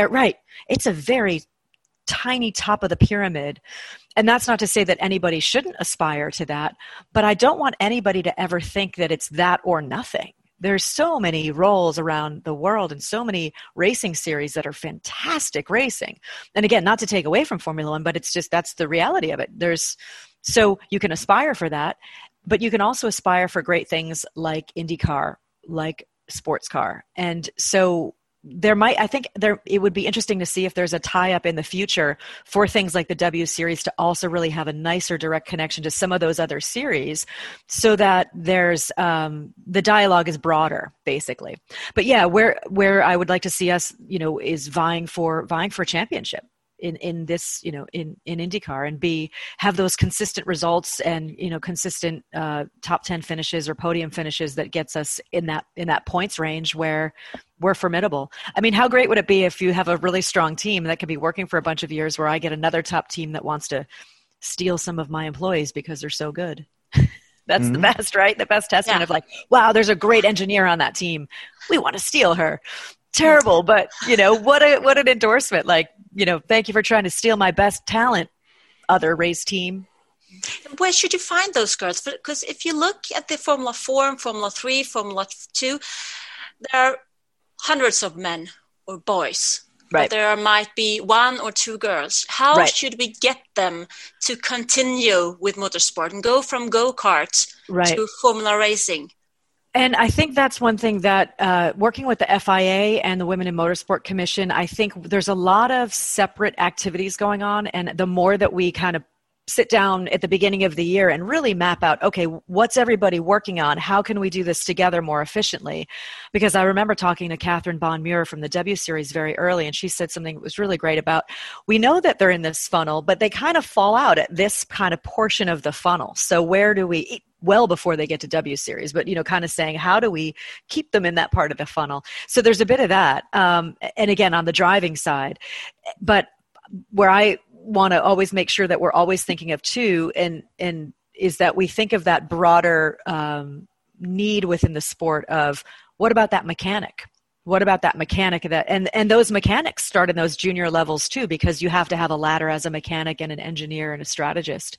very tiny top of the pyramid. And that's not to say that anybody shouldn't aspire to that, but I don't want anybody to ever think that it's that or nothing. There's so many roles around the world and so many racing series that are fantastic racing. And again, not to take away from Formula One, but it's just, that's the reality of it. So you can aspire for that, but you can also aspire for great things like IndyCar, like sports car. And so it would be interesting to see if there's a tie-up in the future for things like the W Series to also really have a nicer direct connection to some of those other series, so that there's the dialogue is broader, basically. But yeah, where I would like to see us, is vying for championship in this, in IndyCar, and have those consistent results and, consistent top 10 finishes or podium finishes that gets us in that points range where we're formidable. I mean, how great would it be if you have a really strong team that could be working for a bunch of years, where I get another top team that wants to steal some of my employees because they're so good? That's the best, right? The best testament of like, wow, there's a great engineer on that team. We want to steal her. Terrible, but what an endorsement. Like, thank you for trying to steal my best talent, other race team. Where should you find those girls? Because if you look at the Formula 4 and Formula 3, Formula 2, there are hundreds of men or boys. Right. But there might be 1 or 2 girls. How should we get them to continue with motorsport and go from go-kart to Formula racing? And I think that's one thing that working with the FIA and the Women in Motorsport Commission, I think there's a lot of separate activities going on. And the more that we kind of sit down at the beginning of the year and really map out, okay, what's everybody working on? How can we do this together more efficiently? Because I remember talking to Catherine Bond-Muir from the W Series very early, and she said something that was really great about, we know that they're in this funnel, but they kind of fall out at this kind of portion of the funnel. So where do we, well before they get to W Series, but, kind of saying, how do we keep them in that part of the funnel? So there's a bit of that. And again, on the driving side, but where I want to always make sure that we're always thinking of too, and is that we think of that broader need within the sport of, what about that mechanic? What about that mechanic and those mechanics start in those junior levels too, because you have to have a ladder as a mechanic and an engineer and a strategist.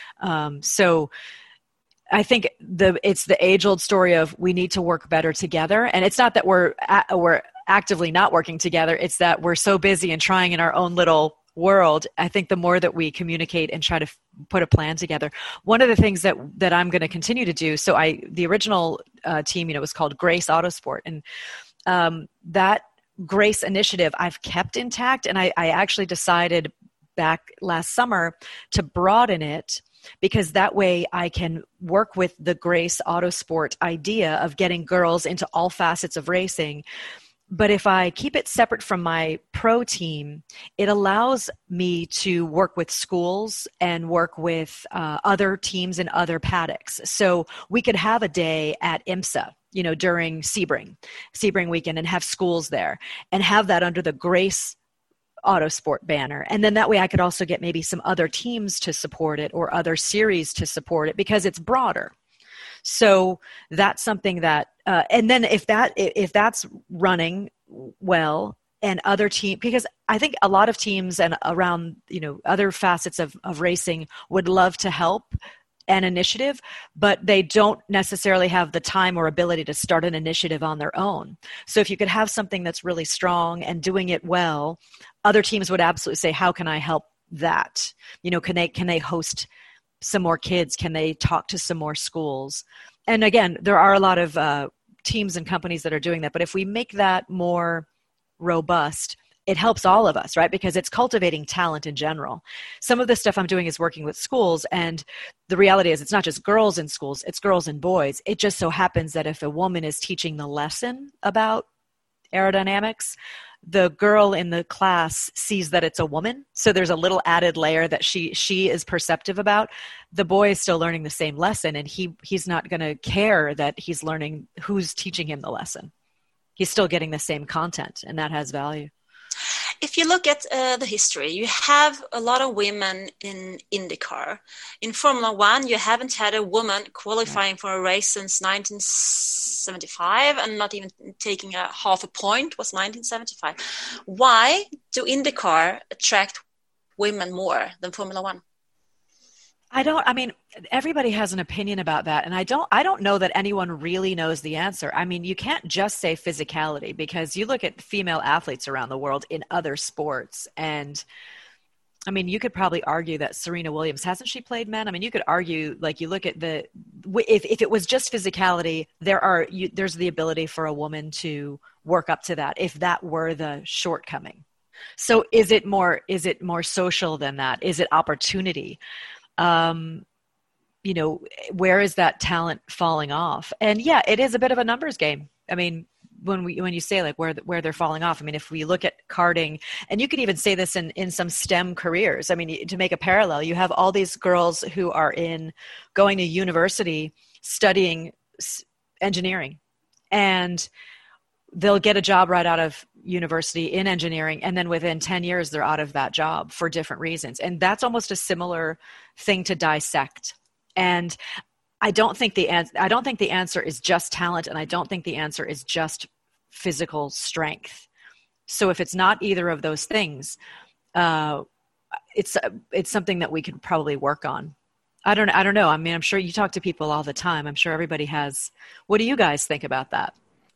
So I think it's the age-old story of, we need to work better together. And it's not that we're actively not working together. It's that we're so busy and trying in our own little world. I think the more that we communicate and try to put a plan together. One of the things that I'm going to continue to do, so the original team, was called Grace Autosport, and that Grace initiative I've kept intact, and I actually decided back last summer to broaden it, because that way I can work with the Grace Autosport idea of getting girls into all facets of racing. But if I keep it separate from my pro team, it allows me to work with schools and work with other teams and other paddocks. So we could have a day at IMSA, during Sebring weekend, and have schools there and have that under the Grace Autosport banner. And then that way I could also get maybe some other teams to support it or other series to support it, because it's broader. So that's something that, and then if that's running well, and other team, because I think a lot of teams and around, other facets of racing would love to help an initiative, but they don't necessarily have the time or ability to start an initiative on their own. So if you could have something that's really strong and doing it well, other teams would absolutely say, how can I help that? You know, can they host some more kids? Can they talk to some more schools? And again, there are a lot of teams and companies that are doing that. But if we make that more robust, it helps all of us, right? Because it's cultivating talent in general. Some of the stuff I'm doing is working with schools, and the reality is it's not just girls in schools, it's girls and boys. It just so happens that if a woman is teaching the lesson about aerodynamics, the girl in the class sees that it's a woman. So there's a little added layer that she is perceptive about. The boy is still learning the same lesson, and he's not going to care that he's learning who's teaching him the lesson. He's still getting the same content, and that has value. If you look at the history, you have a lot of women in IndyCar. In Formula One, you haven't had a woman qualifying for a race since 1975, and not even taking a half a point was 1975. Why do IndyCar attract women more than Formula One? I mean, everybody has an opinion about that. And I don't know that anyone really knows the answer. I mean, you can't just say physicality, because you look at female athletes around the world in other sports. And I mean, you could probably argue that Serena Williams, hasn't she played men? I mean, you could argue, like, you look at if it was just physicality, there's the ability for a woman to work up to that if that were the shortcoming. So is it more social than that? Is it opportunity? You know, where is that talent falling off? And yeah, it is a bit of a numbers game. I mean, when you say like where they're falling off, I mean, if we look at karting, and you could even say this in some STEM careers, I mean, to make a parallel, you have all these girls who are going to university studying engineering, and they'll get a job right out of university in engineering, and then within 10 years they're out of that job for different reasons. And that's almost a similar thing to dissect. And I don't think the answer is just talent, and I don't think the answer is just physical strength. So if it's not either of those things, it's something that we could probably work on. I don't know. I mean, I'm sure you talk to people all the time. I'm sure everybody has. What do you guys think about that?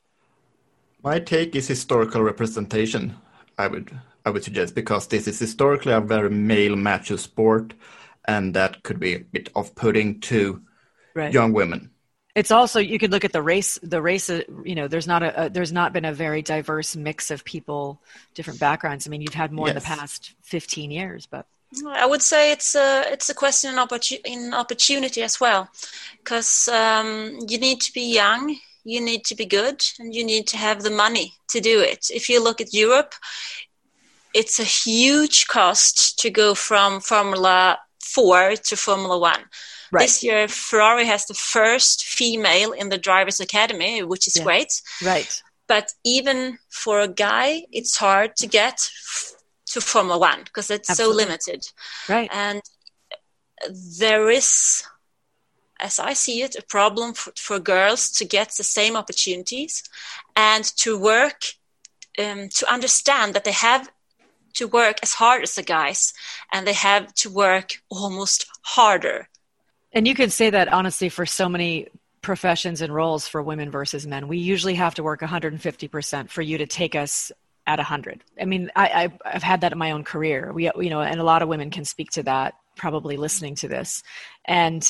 My take is historical representation, I would suggest, because this is historically a very male macho sport, and that could be a bit off-putting to young women. It's also, you could look at the race, you know, there's not been a very diverse mix of people, different backgrounds. I mean, you've had more in the past 15 years, but I would say it's a question in opportunity as well, because you need to be young, you need to be good, and you need to have the money to do it. If you look at Europe, it's a huge cost to go from Formula 4 to Formula 1. Right. This year, Ferrari has the first female in the Drivers' Academy, which is great. Right. But even for a guy, it's hard to get to Formula 1 because it's so limited. Right. And there is, as I see it, a problem for girls to get the same opportunities and to work, to understand that they have to work as hard as the guys, and they have to work almost harder. And you could say that honestly for so many professions and roles for women versus men. We usually have to work 150% for you to take us at 100. I mean, I've had that in my own career. And a lot of women can speak to that, probably listening to this. And,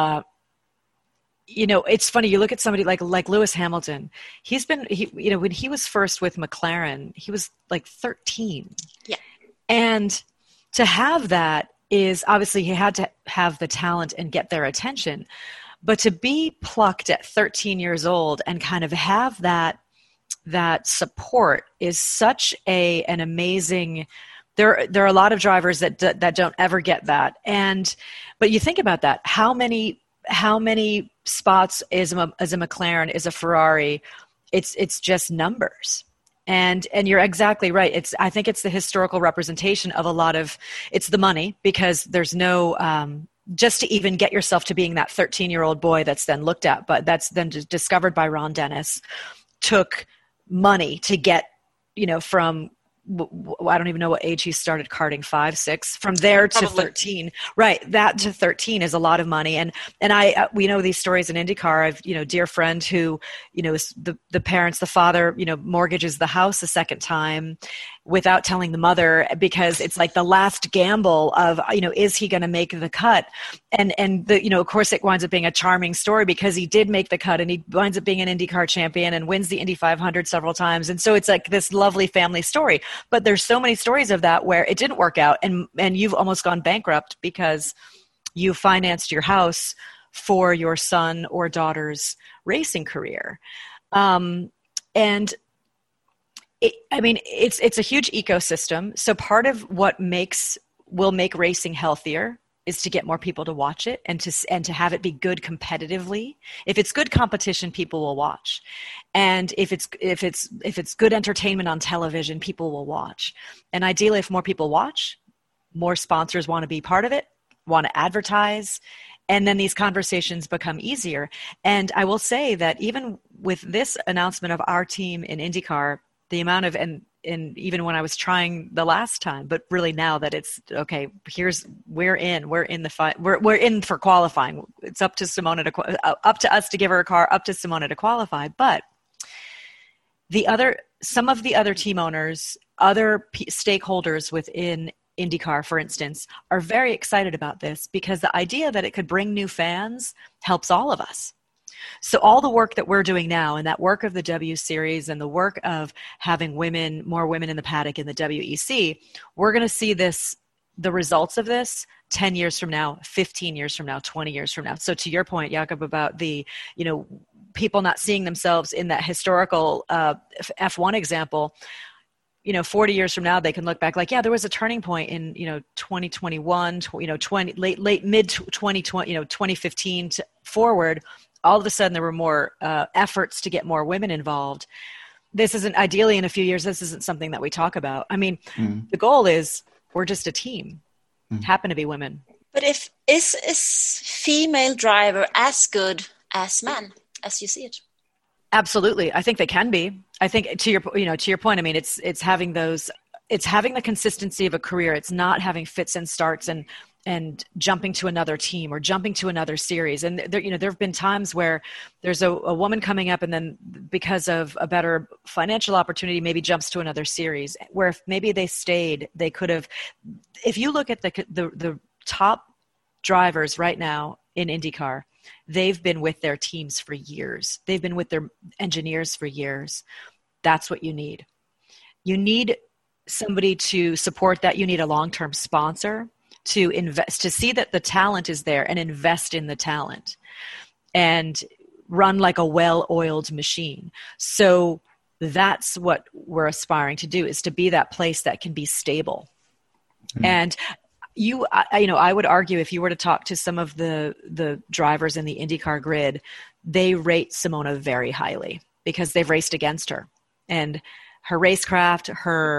it's funny. You look at somebody like Lewis Hamilton. When he was first with McLaren, he was like 13. Yeah. And to have that is obviously he had to have the talent and get their attention. But to be plucked at 13 years old and kind of have that support is such an amazing. There are a lot of drivers that don't ever get that. But you think about that. How many spots is a McLaren, is a Ferrari? It's just numbers. And you're exactly right. I think it's the historical representation of a lot of, it's the money, because there's no, just to even get yourself to being that 13-year-old boy that's then looked at, but that's then discovered by Ron Dennis, took money to get, from, I don't even know what age he started karting, 5, 6, from there to 13. Right. That to 13 is a lot of money. And we know these stories in IndyCar. I've, dear friend who, is the parents, the father, mortgages the house a second time, without telling the mother, because it's like the last gamble of, is he going to make the cut? And of course it winds up being a charming story because he did make the cut and he winds up being an IndyCar champion and wins the Indy 500 several times. And so it's like this lovely family story, but there's so many stories of that where it didn't work out and you've almost gone bankrupt because you financed your house for your son or daughter's racing career. And it's a huge ecosystem. So part of what will make racing healthier is to get more people to watch it and to have it be good competitively. If it's good competition, people will watch. And if it's good entertainment on television, people will watch. And ideally, if more people watch, more sponsors want to be part of it, want to advertise, and then these conversations become easier. And I will say that even with this announcement of our team in IndyCar, the amount of, and even when I was trying the last time, but really now that it's okay, we're in the fight, we're in for qualifying. It's up to up to us to give her a car, up to Simona to qualify. But some of the other team owners, other stakeholders within IndyCar, for instance, are very excited about this because the idea that it could bring new fans helps all of us. So all the work that we're doing now and that work of the W Series and the work of having more women in the paddock in the WEC, we're going to see the results of this 10 years from now, 15 years from now, 20 years from now. So to your point, Jakob, about the, people not seeing themselves in that historical F1 example, 40 years from now, they can look back like, yeah, there was a turning point in, 2021, late mid 2020, 2015 to forward. All of a sudden there were more efforts to get more women involved. This isn't ideally in a few years. This isn't something that we talk about. I mean, the goal is we're just a team, happen to be women. But is female driver as good as men as you see it? Absolutely. I think they can be. I think to your point, I mean, it's having the consistency of a career. It's not having fits and starts and jumping to another team or jumping to another series. And there have been times where there's a woman coming up and then because of a better financial opportunity, maybe jumps to another series where if maybe they stayed, they could have, if you look at the top drivers right now in IndyCar, they've been with their teams for years. They've been with their engineers for years. That's what you need. You need somebody to support that. You need a long-term sponsor to invest, to see that the talent is there and invest in the talent and run like a well-oiled machine. So that's what we're aspiring to do, is to be that place that can be stable. And I would argue if you were to talk to some of the drivers in the IndyCar grid, they rate Simona very highly because they've raced against her and her racecraft,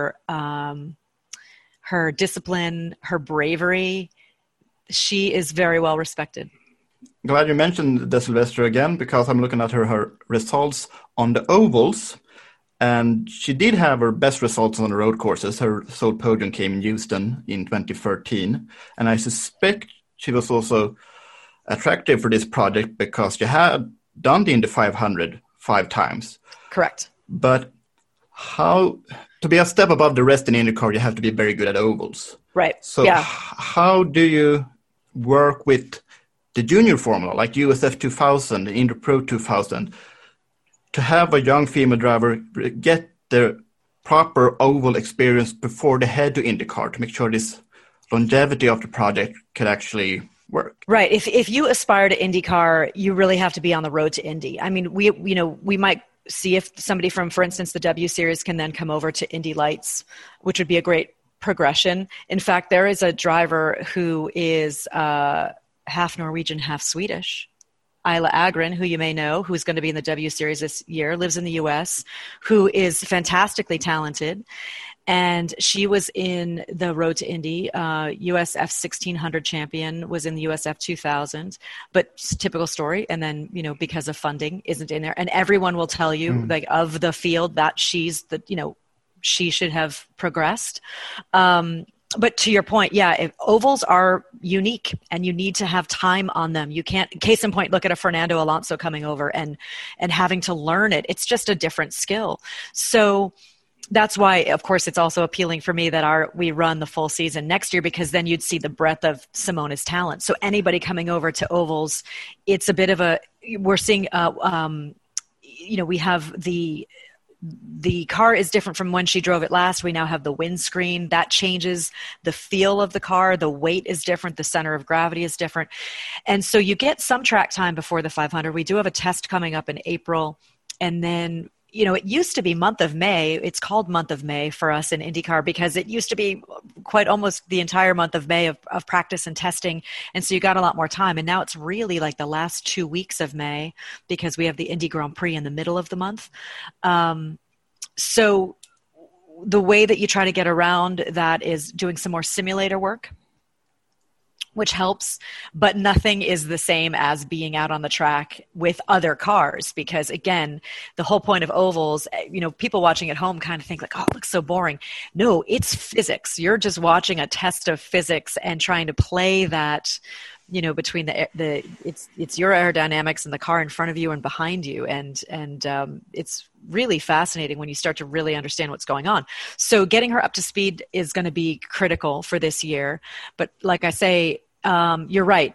her discipline, her bravery. She is very well respected. Glad you mentioned De Silvestro again, because I'm looking at her results on the ovals. And she did have her best results on the road courses. Her sole podium came in Houston in 2013. And I suspect she was also attractive for this project because she had done the Indy 500 5 times. Correct. But to be a step above the rest in IndyCar, you have to be very good at ovals. Right. So how do you work with the junior formula, like USF 2000 and Indy Pro 2000, to have a young female driver get the proper oval experience before they head to IndyCar to make sure this longevity of the project could actually work? Right. If you aspire to IndyCar, you really have to be on the road to Indy. I mean, we might see if somebody from, for instance, the W Series can then come over to Indy Lights, which would be a great progression. In fact, there is a driver who is half Norwegian, half Swedish, Isla Agren, who you may know, who's going to be in the W Series this year, lives in the U.S., who is fantastically talented. And she was in the Road to Indy, USF 1600 champion, was in the USF 2000, but typical story. And then, because of funding, isn't in there. And everyone will tell you, like, of the field, that she should have progressed. But to your point, ovals are unique and you need to have time on them. You can't, case in point, look at a Fernando Alonso coming over and having to learn it. It's just a different skill. So that's why, of course, it's also appealing for me that we run the full season next year, because then you'd see the breadth of Simona's talent. So anybody coming over to ovals, it's a bit of we're seeing, we have the car is different from when she drove it last. We now have the windscreen. That changes the feel of the car. The weight is different. The center of gravity is different. And so you get some track time before the 500. We do have a test coming up in April. And then, it used to be month of May. It's called month of May for us in IndyCar because it used to be quite almost the entire month of May of practice and testing. And so you got a lot more time. And now it's really like the last 2 weeks of May because we have the Indy Grand Prix in the middle of the month. So the way that you try to get around that is doing some more simulator work, which helps, but nothing is the same as being out on the track with other cars because, again, the whole point of ovals, people watching at home kind of think like, oh, it looks so boring. No, it's physics. You're just watching a test of physics and trying to play that, between it's your aerodynamics and the car in front of you and behind you. And it's really fascinating when you start to really understand what's going on. So getting her up to speed is going to be critical for this year. But like I say, you're right.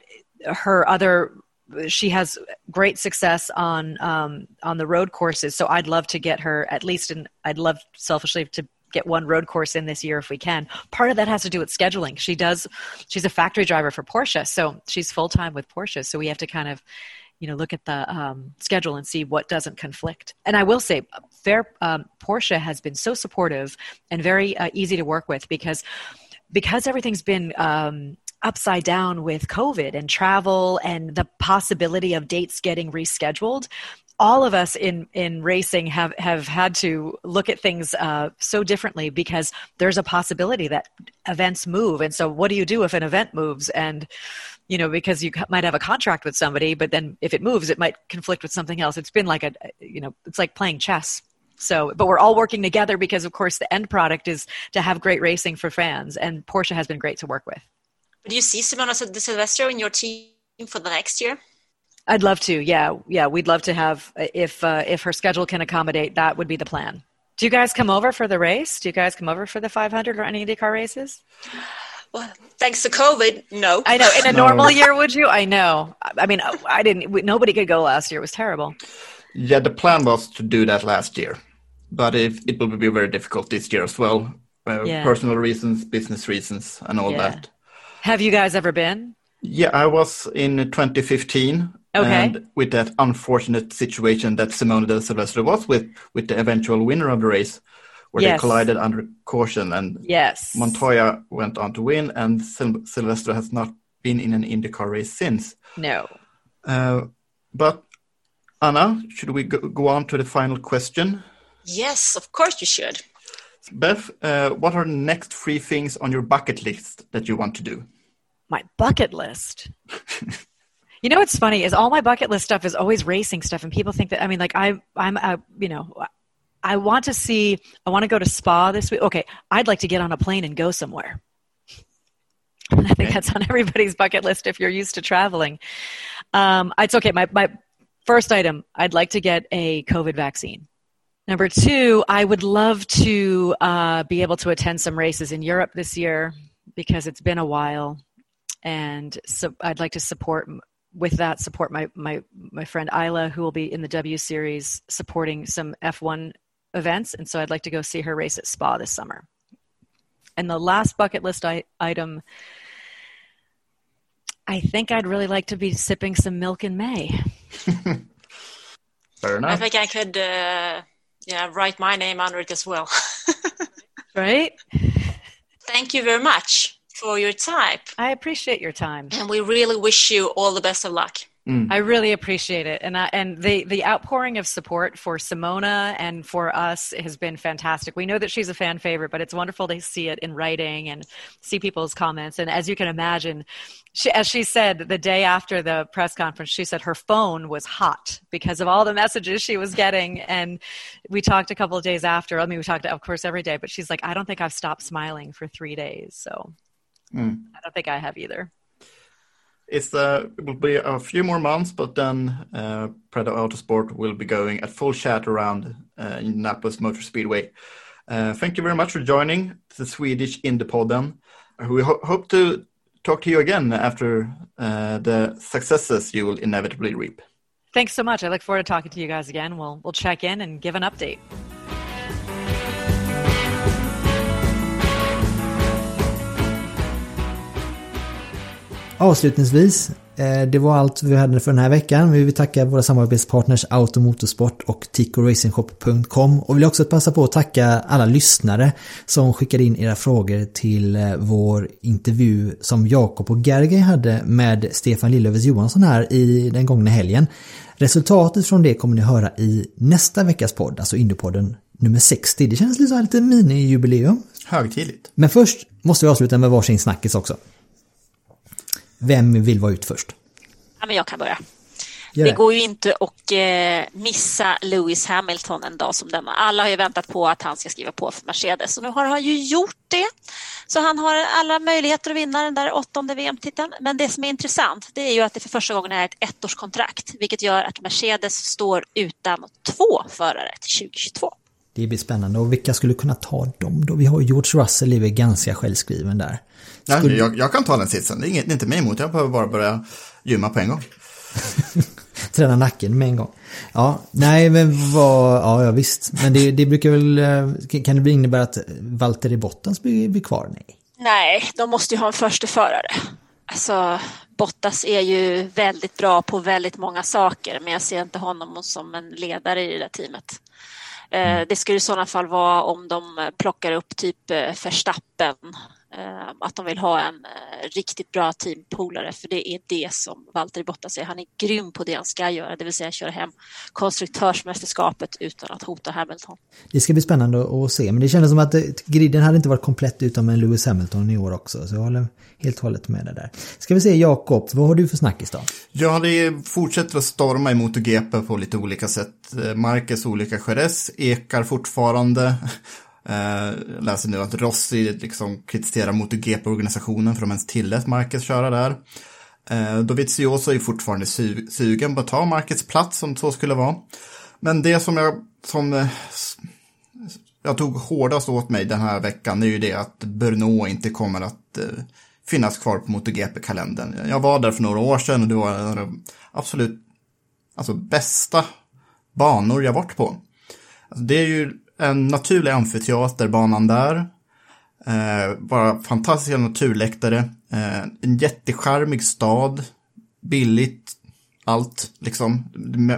She has great success on the road courses. So I'd love to get her at least, I'd love selfishly to get one road course in this year if we can. Part of that has to do with scheduling. She's a factory driver for Porsche, so she's full-time with Porsche. So we have to kind of, look at the schedule and see what doesn't conflict. And I will say, Porsche has been so supportive and very easy to work with because everything's been upside down with COVID and travel and the possibility of dates getting rescheduled. All of us in racing have had to look at things so differently because there's a possibility that events move. And so what do you do if an event moves? And, because you might have a contract with somebody, but then if it moves, it might conflict with something else. It's been like it's like playing chess. So, but we're all working together because, of course, the end product is to have great racing for fans. And Porsche has been great to work with. Do you see Simona De Silvestro in your team for the next year? I'd love to. Yeah. We'd love to have, if her schedule can accommodate, that would be the plan. Do you guys come over for the race? Do you guys come over for the 500 or any IndyCar races? Well, thanks to COVID, no. I know. In a normal year, would you? I know. I mean, nobody could go last year. It was terrible. Yeah, the plan was to do that last year, but it will be very difficult this year as well. Personal reasons, business reasons, and all that. Have you guys ever been? Yeah, I was in 2015. Okay. And with that unfortunate situation that Simona De Silvestro was with the eventual winner of the race, where they collided under caution, and Montoya went on to win, and Silvestro has not been in an IndyCar race since. No. But Anna, should we go on to the final question? Yes, of course you should. Beth, what are the next 3 things on your bucket list that you want to do? My bucket list? What's funny is all my bucket list stuff is always racing stuff, and people think that, I want to go to Spa this week. Okay, I'd like to get on a plane and go somewhere. And I think that's on everybody's bucket list if you're used to traveling. It's okay. My first item, I'd like to get a COVID vaccine. Number 2, I would love to be able to attend some races in Europe this year because it's been a while. And so I'd like to support my friend Isla, who will be in the W Series supporting some F1 events. And so I'd like to go see her race at Spa this summer. And the last bucket list item, I think I'd really like to be sipping some milk in May. Fair enough. I think I could write my name under it as well. Right? Thank you very much for your time. I appreciate your time. And we really wish you all the best of luck. I really appreciate it. And the outpouring of support for Simona and for us has been fantastic. We know that she's a fan favorite, but it's wonderful to see it in writing and see people's comments. And as you can imagine, as she said the day after the press conference, she said her phone was hot because of all the messages she was getting. And we talked a couple of days after. I mean, we talked, of course, every day, but she's like, I don't think I've stopped smiling for 3 days. So I don't think I have either. It will be a few more months, but then Predator Autosport will be going at full chat around Indianapolis Motor Speedway. Thank you very much for joining the Swedish Indie-podden. We hope to talk to you again after the successes you will inevitably reap. Thanks so much. I look forward to talking to you guys again. We'll check in and give an update. Avslutningsvis, det var allt vi hade för den här veckan. Vi vill tacka våra samarbetspartners Automotorsport och TicoRacingshop.com, och vill också passa på att tacka alla lyssnare som skickade in era frågor till vår intervju som Jakob och Gergely hade med Stefan Lillövers Johansson här i den gångna helgen. Resultatet från det kommer ni höra i nästa veckas podd, alltså Indiepodden nummer 60. Det känns lite mini-jubileum. Högtidligt. Men först måste vi avsluta med varsin snackis också. Vem vill vara ut först? Ja, men jag kan börja. Det går ju inte att missa Lewis Hamilton en dag som denna. Alla har ju väntat på att han ska skriva på för Mercedes, och nu har han ju gjort det. Så han har alla möjligheter att vinna den där 8:e VM-titeln. Men det som är intressant, det är ju att det för första gången är ett ettårskontrakt, vilket gör att Mercedes står utan 2 förare till 2022. Det blir spännande, och vilka skulle kunna ta dem då? Vi har George Russell, är ganska självskriven där. Jag kan ta den sitsen, det är inte mig emot, jag behöver bara börja gymma på en gång. Träna nacken med en gång. Ja, nej men ja visst. Men det brukar väl, kan det innebära att Valtteri Bottas blir kvar? Nej, de måste ju ha en första förare. Alltså, Bottas är ju väldigt bra på väldigt många saker, men jag ser inte honom som en ledare i det där teamet. Det skulle i sådana fall vara om de plockar upp typ Verstappen, att de vill ha en riktigt bra teampolare, för det är det som Valtteri Bottas är. Han är grym på det han ska göra, det vill säga köra hem konstruktörsmästerskapet utan att hota Hamilton. Det ska bli spännande att se, men det kändes som att griden hade inte varit komplett utan med Lewis Hamilton i år också, så jag håller helt och hållet med det där. Ska vi se, Jakob, vad har du för snackis då? Ja, det fortsätter att storma i MotoGP på lite olika sätt. Marquez olika Jerez ekar fortfarande. Läser nu att Rossi liksom kritiserar MotoGP-organisationen för att de ens tillät Marquez köra där. Dovizioso är fortfarande sugen på att ta Marquez plats om så skulle vara. Men det som jag tog hårdast åt mig den här veckan är ju det att Brno inte kommer att finnas kvar på MotoGP-kalendern. Jag var där för några år sedan och det var absolut bästa banor jag varit på. Alltså, det är ju en naturlig amfiteaterbanan där. Bara fantastiska naturläktare. En jättecharmig stad. Billigt. Allt liksom.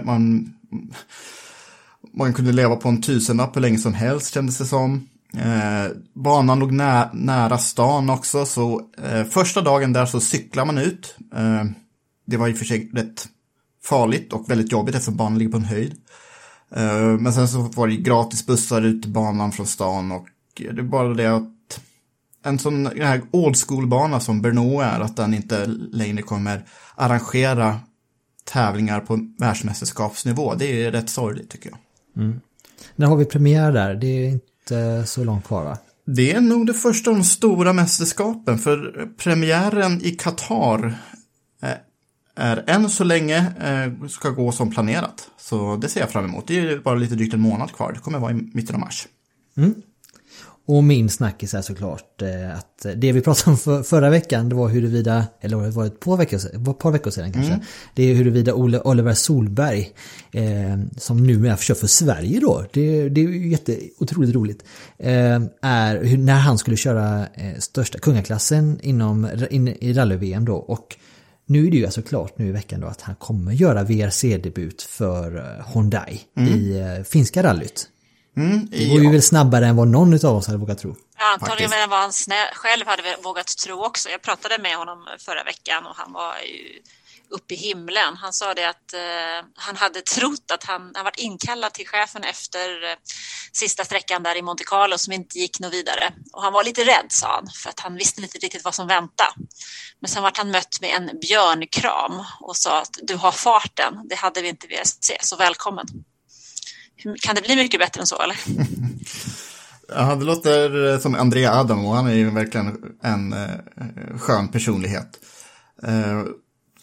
Man kunde leva på en 1000-lapp hur länge som helst, kändes det som. Banan låg nära stan också. Så första dagen där så cyklar man ut. Det var i och för sig rätt farligt och väldigt jobbigt eftersom banan ligger på en höjd. Men sen så var det gratis bussar ut till banan från stan, och det är bara det att en sån här old school-bana som Brno är, att den inte längre kommer arrangera tävlingar på världsmästerskapsnivå. Det är rätt sorgligt tycker jag. När har vi premiär där? Det är inte så långt kvar, va? Det är nog det första av de stora mästerskapen, för premiären i Qatar är än så länge ska gå som planerat. Så det ser jag fram emot. Det är bara lite drygt en månad kvar. Det kommer vara i mitten av mars. Och min snackis är såklart att det vi pratade om förra veckan, det var huruvida, eller var det ett par veckor sedan kanske, det är huruvida Oliver Solberg som nu kör för Sverige då, det är ju otroligt roligt, är när han skulle köra största kungaklassen i rally-VM då, och nu är det ju alltså klart nu i veckan då att han kommer göra VRC-debut för Hyundai i finska rallyt. Det går ju väl snabbare än vad någon av oss hade vågat tro. Ja, antagligen än vad han själv hade vågat tro också. Jag pratade med honom förra veckan och han var ju uppe i himlen. Han sa det att han hade trott att han var inkallad till chefen efter sista sträckan där i Monte Carlo som inte gick något vidare. Och han var lite rädd, sa han, för att han visste inte riktigt vad som väntade. Men sen var han mött med en björnkram och sa att du har farten, det hade vi inte velat se, så välkommen. Kan det bli mycket bättre än så, eller? Ja, det låter som Andrea Adamo. Han är ju verkligen en skön personlighet.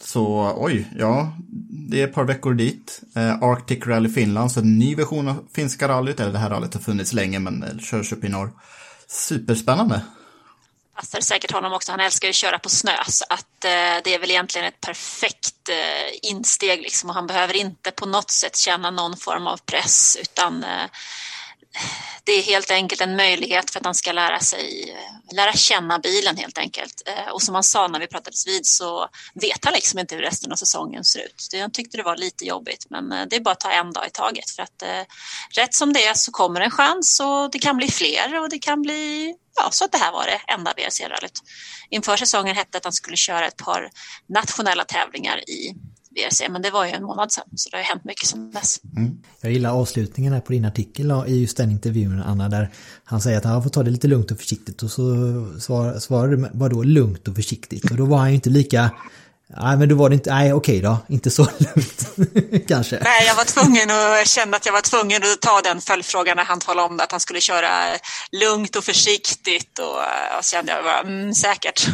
Så det är ett par veckor dit. Arctic Rally Finland, så en ny version av finska rallyt. Eller det här rallyt har funnits länge, men körs upp i norr. Superspännande. Passar säkert honom också. Han älskar ju att köra på snö, så att det är väl egentligen ett perfekt insteg liksom. Och han behöver inte på något sätt känna någon form av press, utan det är helt enkelt en möjlighet för att han ska lära känna bilen helt enkelt. Och som han sa när vi pratades vid, så vet han liksom inte hur resten av säsongen ser ut. Jag tyckte det var lite jobbigt, men det är bara att ta en dag i taget, för att rätt som det är så kommer en chans, och det kan bli fler, och det kan bli så att det här var det enda VRC-rallyt. Inför säsongen hette att han skulle köra ett par nationella tävlingar i VRC, men det var ju en månad sedan, så det har hänt mycket sedan dess. Jag gillar avslutningen här på din artikel i just den intervjun, Anna, där han säger att han får ta det lite lugnt och försiktigt, och så svarar du vadå lugnt och försiktigt, och då var han ju inte lika. Nej, men då var det inte, okej då, inte så lugnt kanske. Nej, jag var tvungen att känna att jag var tvungen att ta den följdfrågan när han talade om att han skulle köra lugnt och försiktigt, och kände jag bara, säkert.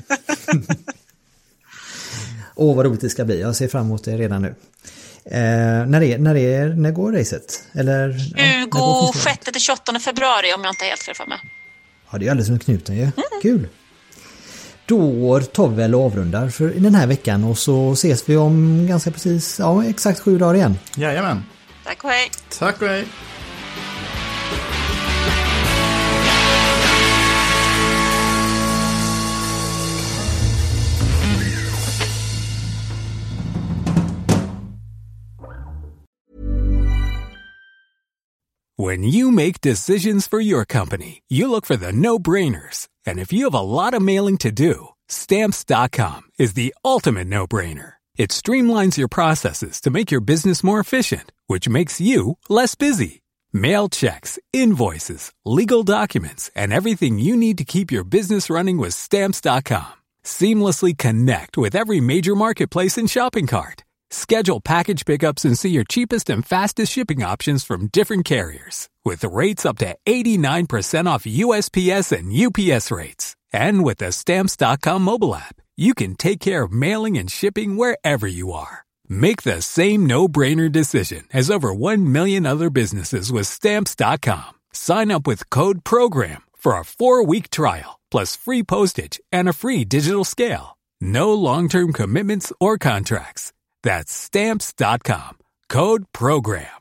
Vad roligt det ska bli, jag ser fram emot det redan nu. När går racet? 26-28 februari, om jag inte är helt fel för mig. Ja, det är alldeles som knuten ju. Kul. Då tar vi väl och avrundar för den här veckan, och så ses vi om ganska precis, exakt 7 dagar igen. Jajamän. Tack och hej. Tack och hej. When you make decisions for your company, you look for the no-brainers. And if you have a lot of mailing to do, Stamps.com is the ultimate no-brainer. It streamlines your processes to make your business more efficient, which makes you less busy. Mail checks, invoices, legal documents, and everything you need to keep your business running with Stamps.com. Seamlessly connect with every major marketplace and shopping cart. Schedule package pickups and see your cheapest and fastest shipping options from different carriers, with rates up to 89% off USPS and UPS rates. And with the Stamps.com mobile app, you can take care of mailing and shipping wherever you are. Make the same no-brainer decision as over 1 million other businesses with Stamps.com. Sign up with code PROGRAM for a 4-week trial, plus free postage and a free digital scale. No long-term commitments or contracts. That's Stamps.com. Code PROGRAM.